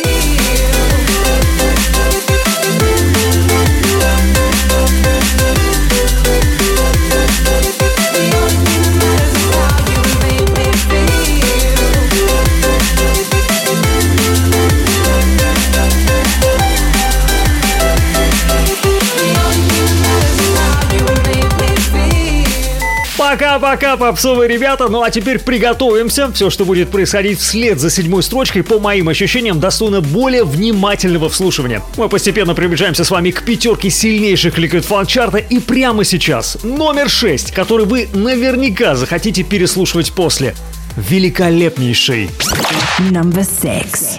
Пока-пока, попсовые ребята. Ну а теперь приготовимся. Все, что будет происходить вслед за 7-й строчкой, по моим ощущениям, достойно более внимательного вслушивания. Мы постепенно приближаемся с вами к 5 сильнейших Liquid Funk чарта. И прямо сейчас номер 6, который вы наверняка захотите переслушивать после. Великолепнейший. Number 6.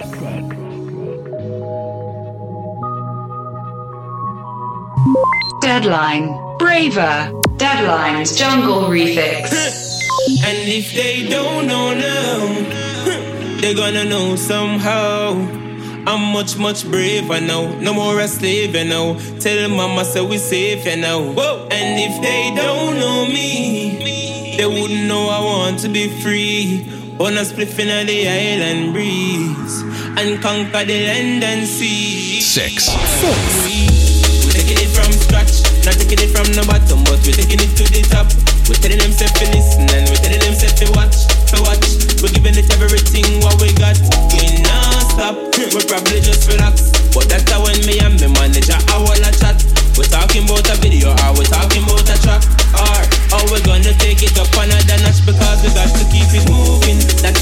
Deadline, Braver, Deadline's Jungle Refix. And if they don't know now, they're gonna know somehow. I'm much, much braver now. No more a slave, you know. Tell mama say we safe, you know. Whoa. And if they don't know me, they wouldn't know I want to be free. Wanna spliff in the island breeze and conquer the land and sea. 6. We're taking it from scratch, not taking it from the bottom, but we're taking it to the top. We're telling them say to listen and we're telling them say to watch, to watch. We're giving it everything what we got. We non-stop, we probably just relax, but that's how when me and my manager I wanna chat. We're talking about a video or we're talking about a track, or we're gonna take it up another notch because we got to keep it moving. That's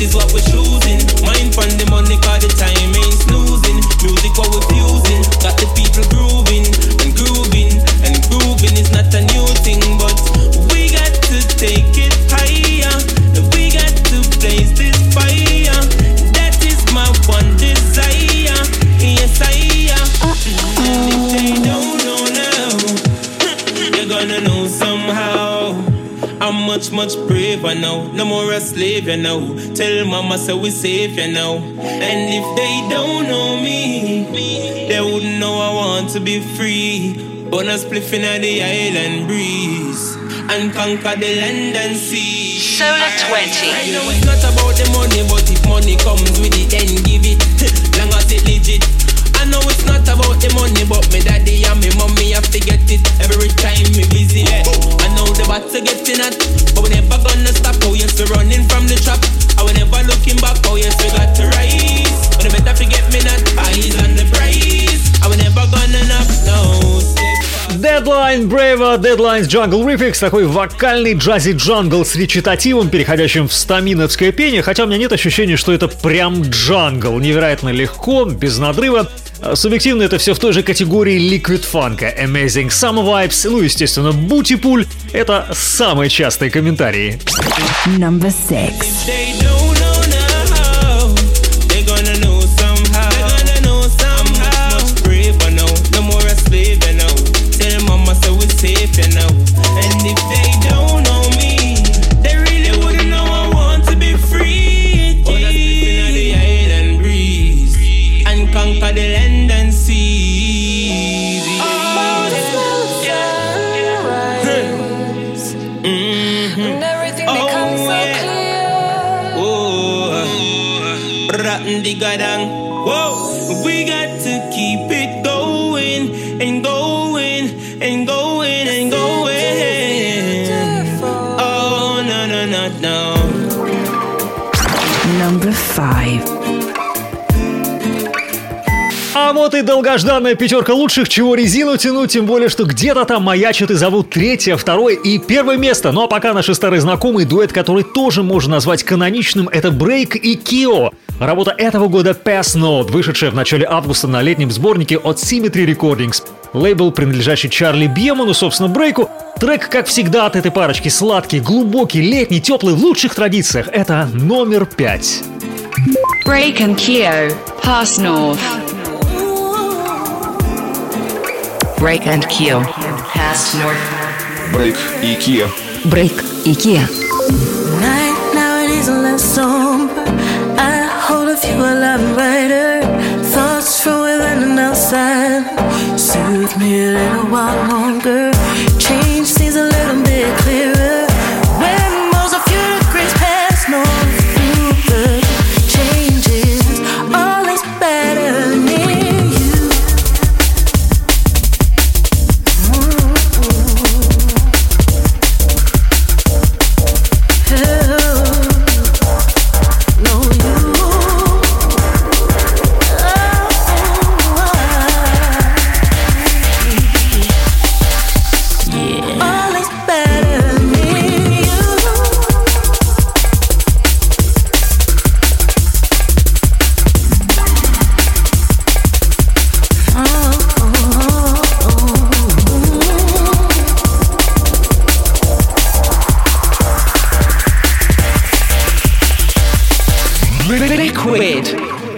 is what we're choosing. Mind from the money, cause the time ain't snoozing. Music what we're fusing, got the people grooving and grooving and grooving. It's not a new thing, but we got to take it higher. We got to blaze this fire. That is my one desire. Yes, I am. And if they don't know now, they're gonna know somehow. I'm much, much braver now. No more a slave, you know. Tell mama so we safe, you know. And if they don't know me, they wouldn't know I want to be free. Bonus spliffing at the island breeze and conquer the land and sea. Solar 20. I know it's not about the money, but if money comes with it, then give it. Long as it legit. I know it's not about the money, but me daddy and me mommy have to get it every time we busy. I know the battle getting at, but we never gonna stop. Oh yes, we're running from the trap. I will never looking back. Oh yes, we got to rise. But you better forget me not. Eyes on the prize. I will never gonna knock no. Deadline, Braver, Deadline's Jungle Refix, такой вокальный джази-джангл с речитативом, переходящим в стаминовское пение, хотя у меня нет ощущения, что это прям джангл. Невероятно легко, без надрыва. Субъективно это все в той же категории Liquid Funk, Amazing Summer Vibes, ну, естественно, Booty Pool. Это самые частые комментарии. Number 6. Safe, you know. And if they don't know me, they really wouldn't know I want to be free. Oh, that's living on the island breeze and conquer the land and sea. Oh, the smell of sunrise, and everything becomes so clear. Oh, rotten the gadang. Whoa, we got to keep it going and going and going and going. Oh, no, no, no, no. Number 5. А вот и долгожданная пятерка лучших, чего резину тянуть, тем более, что где-то там маячит и зовут третье, второе и первое место. Ну а пока наши старые знакомые, дуэт, который тоже можно назвать каноничным, это Break и Kyo. Работа этого года Pass Note, вышедшая в начале августа на летнем сборнике от Symmetry Recordings. Лейбл, принадлежащий Чарли Бьеману, собственно, Брейку. Трек, как всегда, от этой парочки сладкий, глубокий, летний, теплый, в лучших традициях. Это номер 5. Break and Kyo, Pass North. Break and Kyo, Pass North. Break и Kia. Break и Kia. Night now it isn't less somber. I hold a few alive and brighter. Thoughts from within and outside soothe me a little while longer. Change seems a little bit clearer when most of your degrees pass north through the changes. All is better near you. Liquid.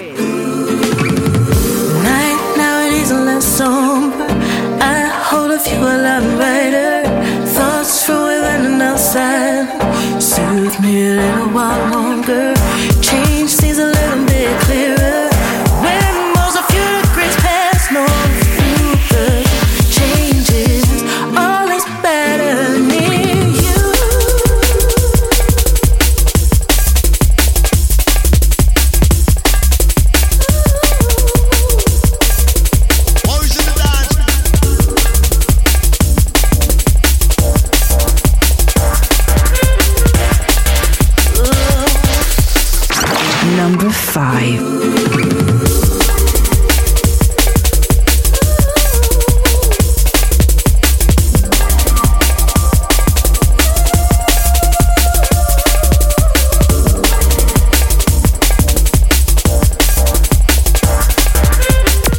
Night now it isn't less somber. I hold a few alive and brighter. Thoughts from within and outside soothe me a little while longer. Change seems a little bit clearer when most of your degrees pass north through the changes. All is better near you. Number 5.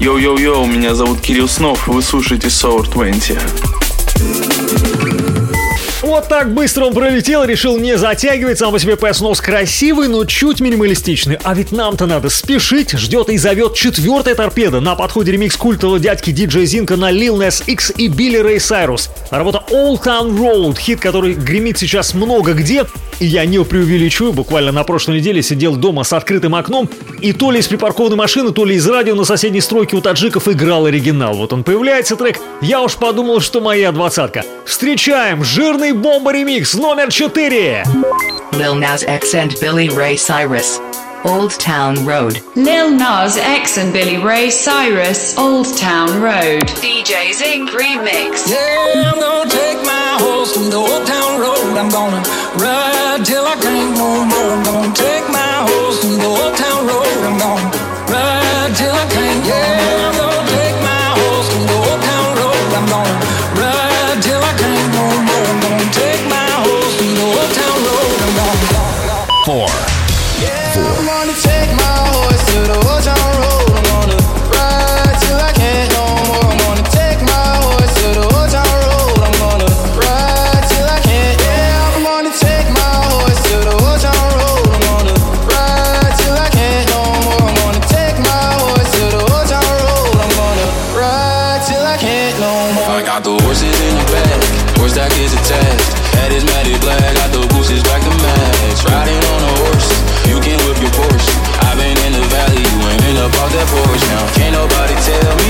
Йоу-йоу-йоу, меня зовут Кирилл Снов, вы слушаете Solar 20. Вот так быстро он пролетел, решил не затягивать. Сам по себе PS Nose красивый, но чуть минималистичный. А ведь нам-то надо спешить. Ждет и зовет 4-я торпеда. На подходе ремикс культового дядьки DJ Zinka на Lil Nas X и Billy Ray Cyrus. Работа Old Town Road, хит, который гремит сейчас много где. И я не преувеличу, буквально на прошлой неделе сидел дома с открытым окном, и то ли из припаркованной машины, то ли из радио на соседней стройке у таджиков играл оригинал. Вот он появляется, трек. Я уж подумал, что моя 20-ка. Встречаем жирный бомба-ремикс номер 4. Lil Nas X and Billy Ray Cyrus, Old Town Road. Lil Nas X and Billy Ray Cyrus, Old Town Road. DJ Zinc remix. Yeah, I'm gonna take my horse through the Old Town Road. I'm gonna ride till I can't no more. I'm gonna take my horse through the Old Town Road. I'm gonna ride till I can't. Yeah, I'm gonna take my horse through the Old Town Road. I'm gonna ride till I can't no more. I'm gonna take my horse through the Old Town Road. I'm gonna 4. I'm gonna take my horse to the Old Town Road. I'm gonna ride till I can't no more. I'm gonna take my horse to the Old Town Road. I'm gonna ride till I can't. Yeah, I'm gonna take my horse to the Old Town Road. I'm gonna ride till I can't no more. I'm gonna take my horse to the Old Town Road. I'm gonna ride till I can't no more. I got the horses in the back, horse that is attached. Head is matted black, got the boosters back to match. Riding on a horse, you can whip your Porsche. I've been in the valley, you ain't been up off that porch. Now can't nobody tell me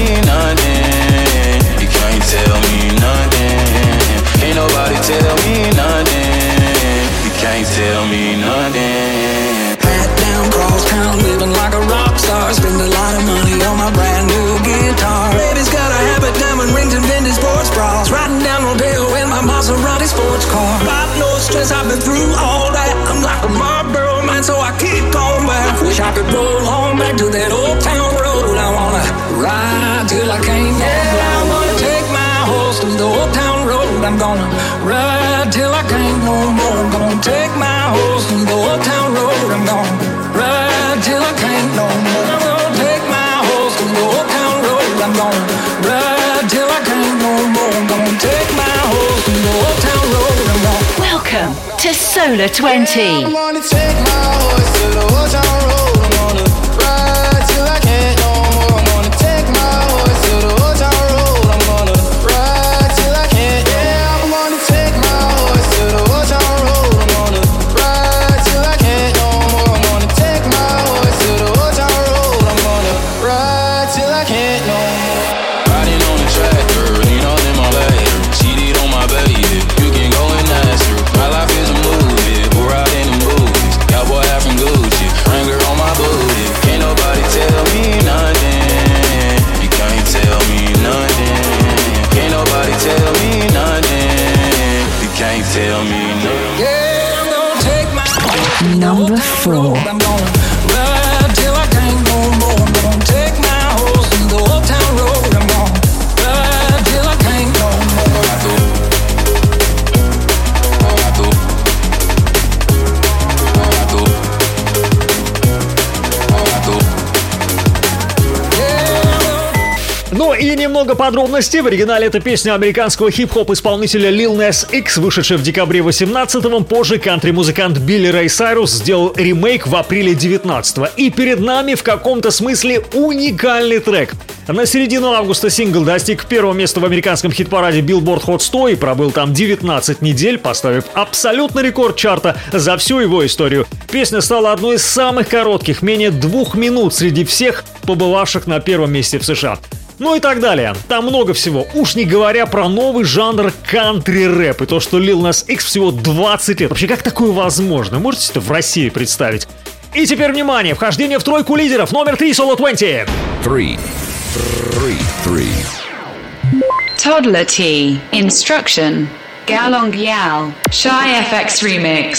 nothing. You can't tell me nothing. Can't nobody tell me nothing. You can't tell me nothing. Hat down, cross town, living like a rock star. Spend a lot of money on my brand new guitar. Baby's got a habit, diamond rings and vintage sports bras. Riding down Rodeo in my Maserati sports car. Pop, no stress, I've been through all that. I'm like a Marlboro man, so I keep going back. Wish I could roll on back to that Old Town Road. I wanna ride till I can't. Yeah, I'm gonna take my horse through the Old Town Road. I'm gonna ride till I can't no more. I'm gonna take my horse through the Old Town Road. I'm gonna ride till I can't no more. I'm gonna take my horse through the Old Town Road. I'm gonna ride till I can't no more. I'm gonna take my horse through the Old Town Road. I'm gonna. Welcome to Solar 20. Yeah, I'm gonna take my horse to the Old Town Road. I'm gonna ride till I can't no more. I'm gonna take my horse to the Old Town Road. I'm gonna ride till I can't. Yeah, I'm gonna take my horse to the Old Town Road. I'm gonna ride till I can't no more. I'm gonna take my horse to the Old Town Road. I'm gonna ride till I can't no more. Riding on the tractor, lean all in my bag. Cheated on my baby, you can go and ask her. My life is a movie, we're out in the movies. Cowboy hat from Gucci, Wrangler on my booty. Can't nobody tell me nothing. You can't tell me nothing. Can't nobody tell me nothing. You can't tell me nothing. Yeah, I'm gonna take my Number 4. I'm gonna ride till I can't no more. I'm gonna take my horse through the Old Town Road. I'm gonna ride till I can't no more. Ну и немного подробностей. В оригинале это песня американского хип-хоп исполнителя Lil Nas X, вышедшая в декабре 18-го. Позже кантри-музыкант Билли Рэй Сайрус сделал ремейк в апреле 19-го. И перед нами в каком-то смысле уникальный трек. На середину августа сингл достиг первого места в американском хит-параде Billboard Hot 100 и пробыл там 19 недель, поставив абсолютный рекорд чарта за всю его историю. Песня стала одной из самых коротких, менее 2 минут среди всех побывавших на первом месте в США. Ну и так далее. Там много всего. Уж не говоря про новый жанр кантри-рэп и то, что Lil Nas X всего 20 лет. Вообще, как такое возможно? Можете это в России представить? И теперь, внимание, вхождение в тройку лидеров. Номер 3, Solar 20. 3. Toddler T. Instruction. Galong Yal. Shy FX remix.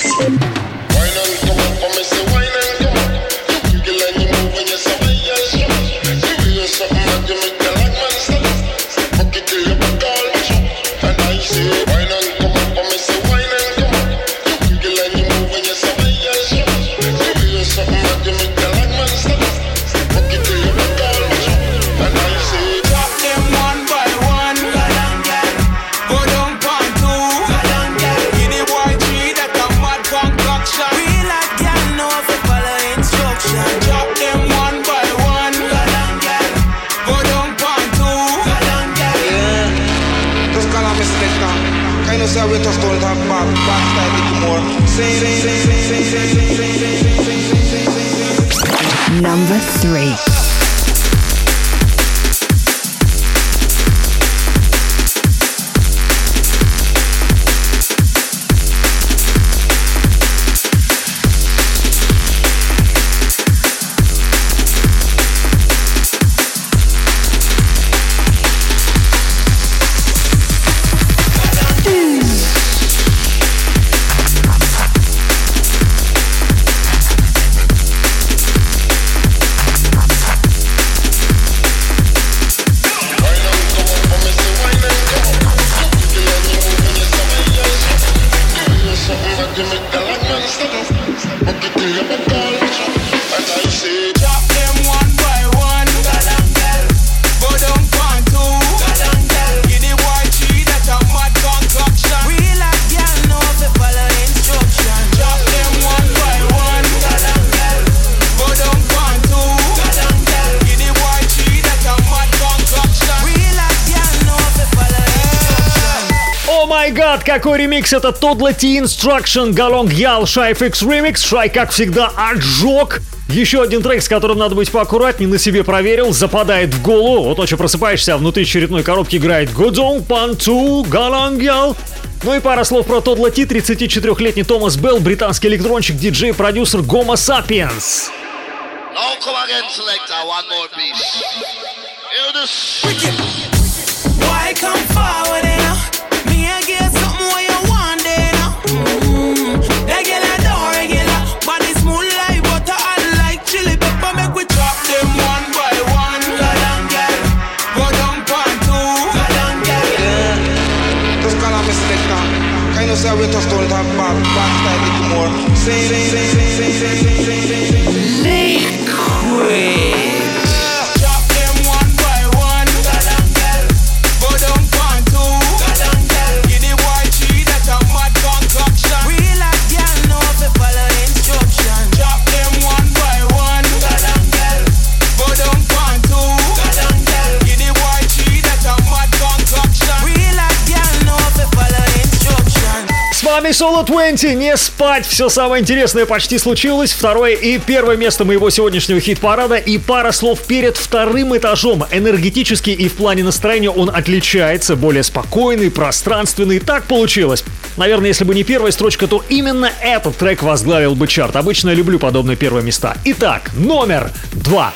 And I we just don't talk backside little more. Number 3. Какой ремикс, это Toddla T Instruction, Galong Yal, Shy Fix Remix. Шай, как всегда, отжег. Еще один трек, с которым надо быть поаккуратнее, на себе проверил, западает в голову. Вот ночью просыпаешься, а внутри черепной коробки играет Godong Pantu, Galong Yal. Ну и пара слов про Toddla T, 34-летний Томас Белл, британский электронщик, диджей, продюсер Homo Sapiens. So we just don't talk backside little more. Liquid. Drop them one by one. Go down pan two. Give the white tree that a mad concoction. Real like y'all know if you follow instruction. Drop them one by one. Go down pan two. Give the white tree that a mad concoction. Real like y'all know if you follow instruction. С вами Solo 20, не спать, все самое интересное почти случилось. Второе и первое место моего сегодняшнего хит-парада. И пара слов перед вторым этажом. Энергетически и в плане настроения он отличается. Более спокойный, пространственный. Так получилось. Наверное, если бы не первая строчка, то именно этот трек возглавил бы чарт. Обычно я люблю подобные первые места. Итак, номер 2.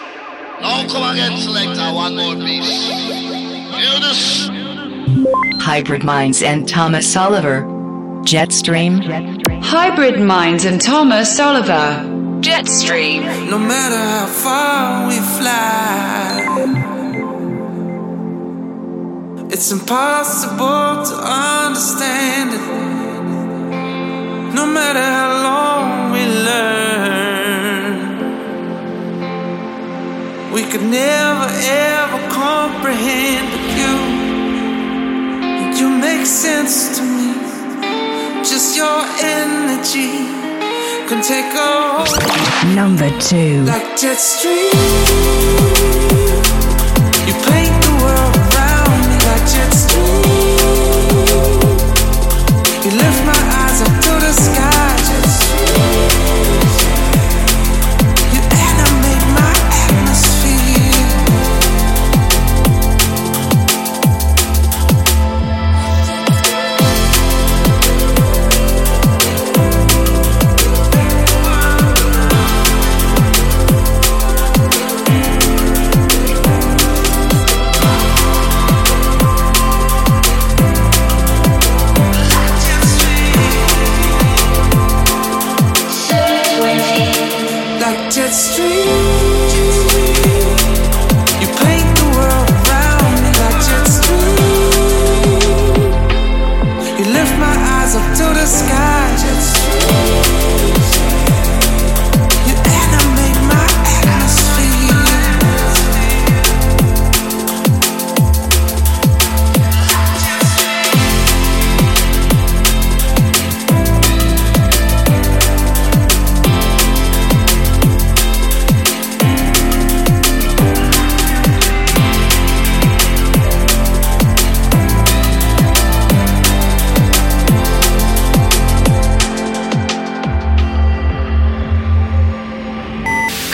Hybrid Minds and Thomas Oliver. Jetstream. Hybrid Minds and Thomas Oliver. Jetstream. No matter how far we fly, it's impossible to understand it. No matter how long we learn, we could never ever comprehend you. You make sense to me. Just your energy can take a hold. Number 2. Like jet stream, you paint the world around me like jet stream. You lift my eyes up to the sky, jet stream. You animate my atmosphere. Jet stream, you paint the world around me like jet stream. You lift my eyes up to the sky, jet stream. You animate my atmosphere.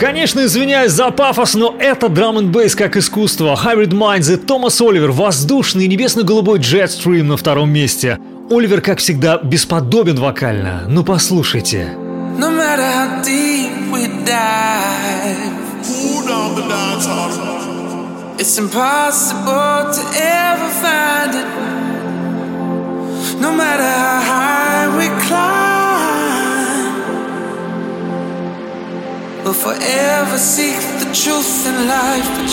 Конечно, извиняюсь за пафос, но это драм-н-бейс как искусство. Hybrid Minds и Томас Оливер, воздушный небесно-голубой Jetstream на втором месте. Оливер, как всегда, бесподобен вокально. Ну послушайте. No matter how deep we dive, Who down the dance hall? it's impossible to ever find it. No matter how high we climb, we'll forever seek the truth in life. But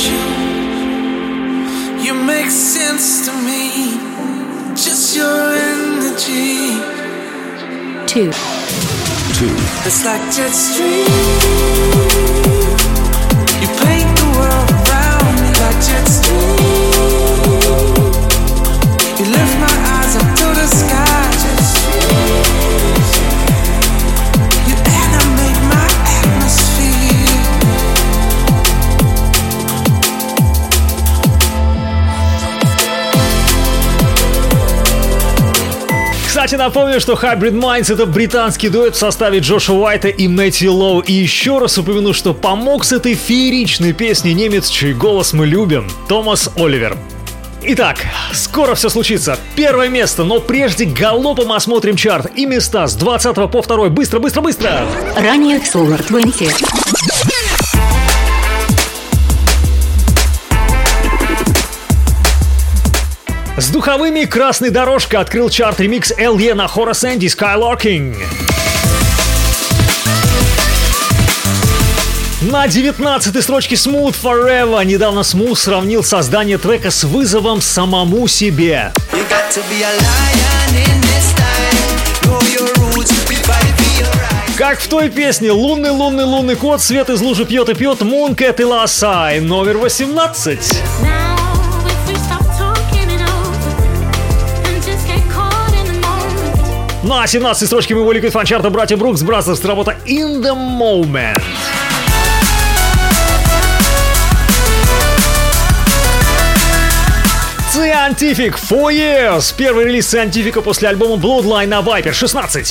you make sense to me. Just your energy. 2. It's like jet stream. You paint the world around me like jet stream. You lift my eyes up to the sky, jet stream. You animate my atmosphere. Кстати, напомню, что Hybrid Minds — это британский дуэт в составе Джоша Уайта и Мэтью Лоу. И еще раз упомяну, что помог с этой фееричной песней немец, чей голос мы любим, Томас Оливер. Итак, скоро все случится. Первое место, но прежде галопом осмотрим чарт и места с 20 по 2. Быстро, быстро, быстро! Ранее в Solar 20. С духовыми «Красной дорожкой» открыл чарт ремикс LE на Horace Andy «Skylarking». На 19-й строчке Smooth Forever. Недавно Smooth сравнил создание трека с вызовом самому себе. Как в той песне «Лунный, лунный, лунный кот», свет из лужи пьет и пьет, Mooncat и Lasai, номер 18. На 17-й строчке моего Liquid Fun чарта братья Брукс Brothers, работа In The Moment. Scientific 4 Years. Первый релиз Scientific после альбома Bloodline на Viper, 16.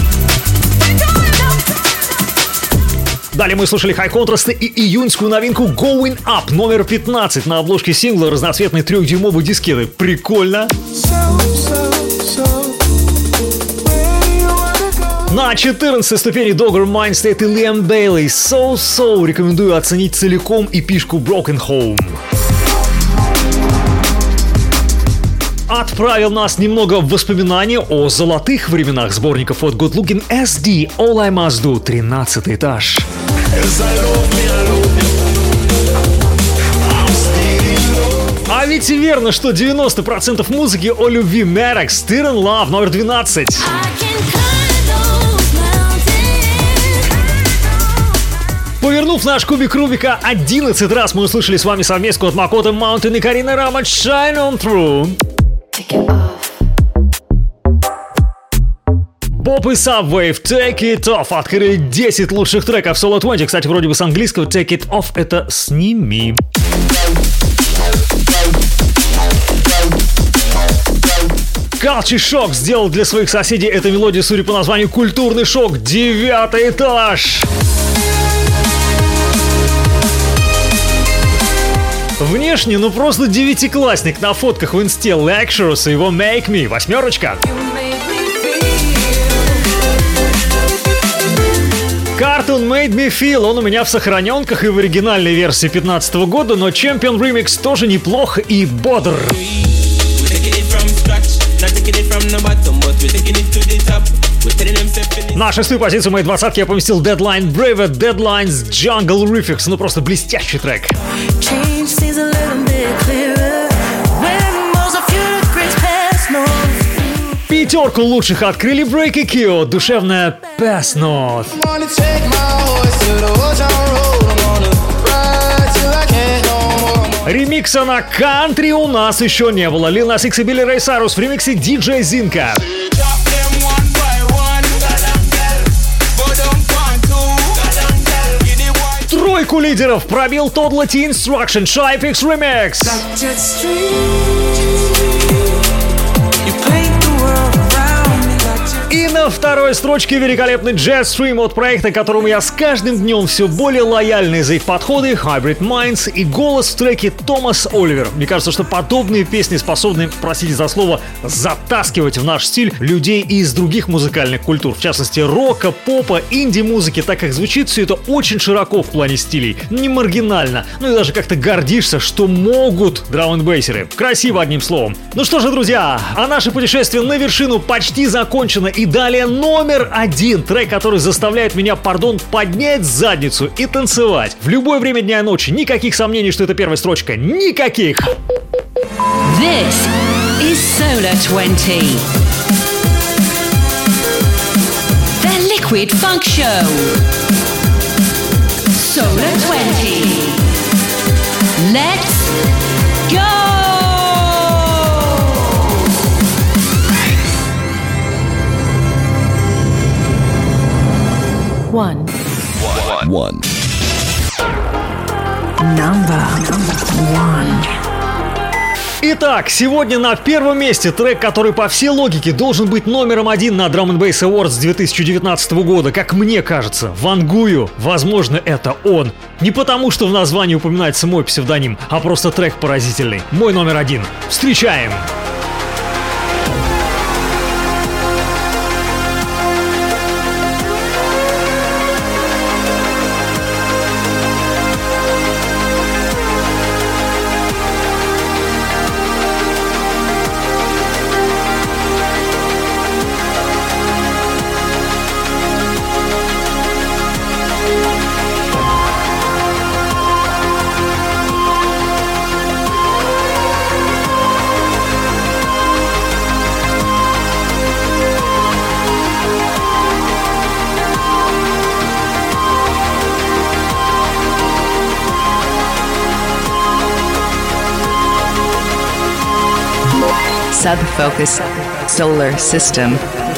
Далее мы слушали High Contrast и июньскую новинку Going Up, номер 15 на обложке сингла разноцветной 3-дюймовой дискеты. Прикольно. На 14 ступени Dogger Mind стоит и Liam Bailey. So. Рекомендую оценить целиком эпишку Broken Home. Отправил нас немного в воспоминания о золотых временах сборников от Good Looking SD All I Must Do, 13 этаж. А ведь верно, что 90% музыки о любви. Maddox, Still in Love, номер 12. Повернув наш кубик Рубика 11 раз, мы услышали с вами совместку от Макото Маунтин и Карина Рама Shine On Through. Боб и Subwave Take It Off открыли 10 лучших треков Solo 20. Кстати, вроде бы с английского Take It Off — это «сними». Culture Shock сделал для своих соседей эту мелодию, судя по названию, «Культурный шок», 9 этаж. Внешне, ну просто девятиклассник на фотках в инсте Lectures и его Make Me, 8. Cartoon Made Me Feel, он у меня в сохраненках и в оригинальной версии 2015 года, но Champion Remix тоже неплох и бодр. На 6-ю позицию моей двадцатки я поместил Deadline Brave, Deadlines Jungle Refix, ну просто блестящий трек. Пятерку лучших открыли Break и Kyo, душевная Pass Note. Ремикса на кантри у нас еще не было. Lil Nas X и Billy Ray Cyrus в ремиксе DJ Zinka. Тройку лидеров пробил Toddler T Instruction Shy Fix Remix. И на На второй строчке великолепный Jetstream от проекта, которому я с каждым днем все более лояльный за их подходы, Hybrid Minds и голос в треке Томас Оливер. Мне кажется, что подобные песни способны, простите за слово, затаскивать в наш стиль людей из других музыкальных культур, в частности рока, попа, инди-музыки, так как звучит все это очень широко в плане стилей, не маргинально, ну и даже как-то гордишься, что могут драм-н-бейсеры. Красиво, одним словом. Ну что же, друзья, а наше путешествие на вершину почти закончено, и далее номер один, трек, который заставляет меня, поднять задницу и танцевать. В любое время дня и ночи, никаких сомнений, что это первая строчка, никаких. This is Solar 20. The Liquid Funk Show. Solar 20. Let's go! One. Number one. Итак, сегодня на первом месте трек, который по всей логике должен быть номером один на Drum & Bass Awards 2019 года, как мне кажется, Вангую. Возможно, это он. Не потому, что в названии упоминается мой псевдоним, а просто трек поразительный. Мой номер один. Встречаем! Subfocus Solar System.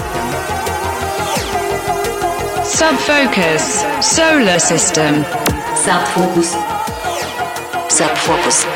Subfocus Solar System. Subfocus. Subfocus.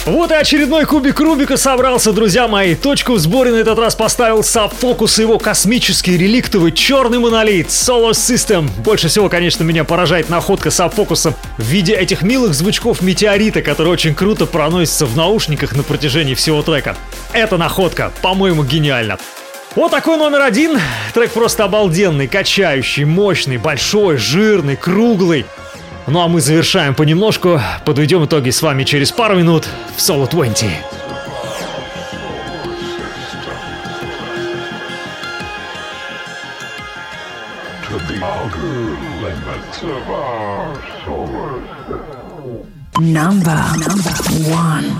Вот и очередной кубик Рубика собрался, друзья мои. Точку в сборе на этот раз поставил Sub Focus и его космический реликтовый черный монолит Solar System. Больше всего, конечно, меня поражает находка Sub Focus в виде этих милых звучков метеорита, которые очень круто проносятся в наушниках на протяжении всего трека. Эта находка, по-моему, гениальна. Вот такой номер один. Трек просто обалденный, качающий, мощный, большой, жирный, круглый. Ну а мы завершаем понемножку, подведем итоги с вами через пару минут в Solo 20. Number one.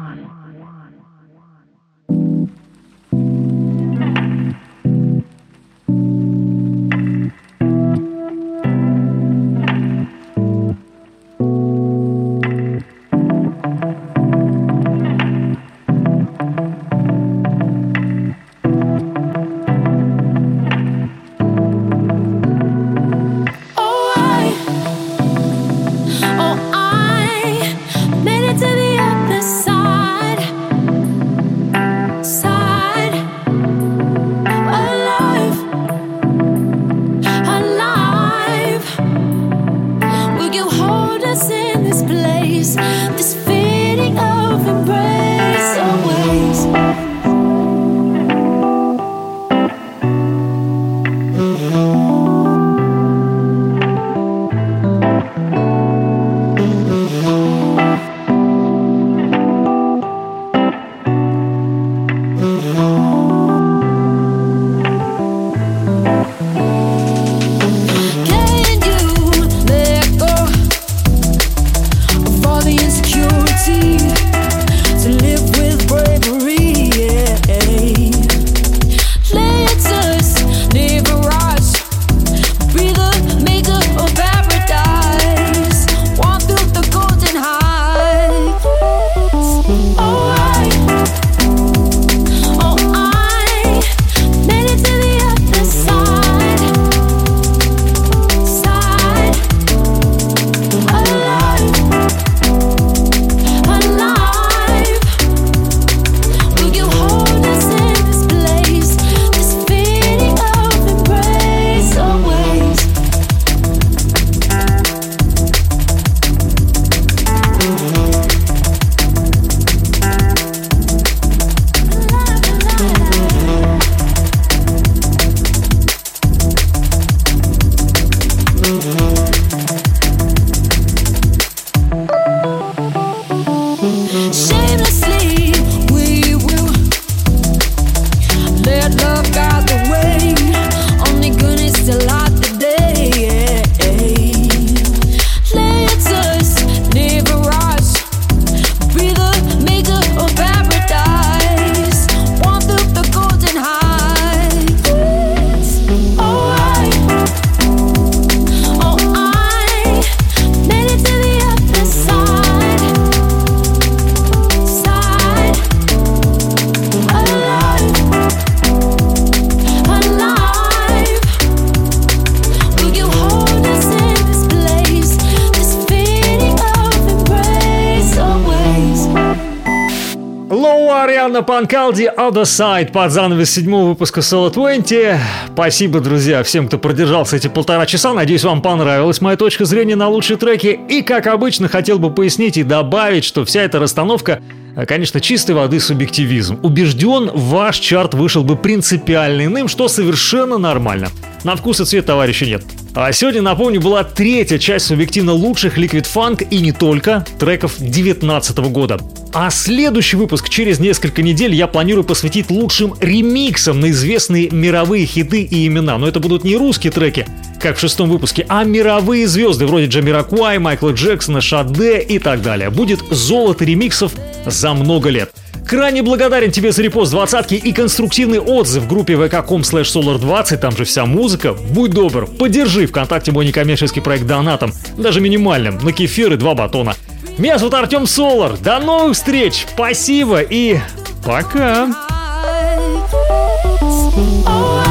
Панкалди Other Side под занавес 7-го выпуска Solo 20. Спасибо, друзья, всем, кто продержался эти 1,5 часа. Надеюсь, вам понравилась моя точка зрения на лучшие треки. И, как обычно, хотел бы пояснить и добавить, что вся эта расстановка, конечно, чистой воды субъективизм. Убежден, ваш чарт вышел бы принципиально иным, что совершенно нормально. На вкус и цвет, товарищи, нет. А сегодня, напомню, была третья часть субъективно лучших Liquid Funk и не только треков 2019 года. А следующий выпуск через несколько недель я планирую посвятить лучшим ремиксам на известные мировые хиты и имена. Но это будут не русские треки, как в 6-м выпуске, а мировые звезды вроде Джамироквай, Майкла Джексона, Шаде и так далее. Будет золото ремиксов за много лет. Крайне благодарен тебе за репост 20-ки и конструктивный отзыв в группе vk.com/solar20, там же вся музыка. Будь добр, поддержи ВКонтакте мой некоммерческий проект донатом, даже минимальным, на кефир и 2 батона. Меня зовут Артем Солар, до новых встреч, спасибо и пока!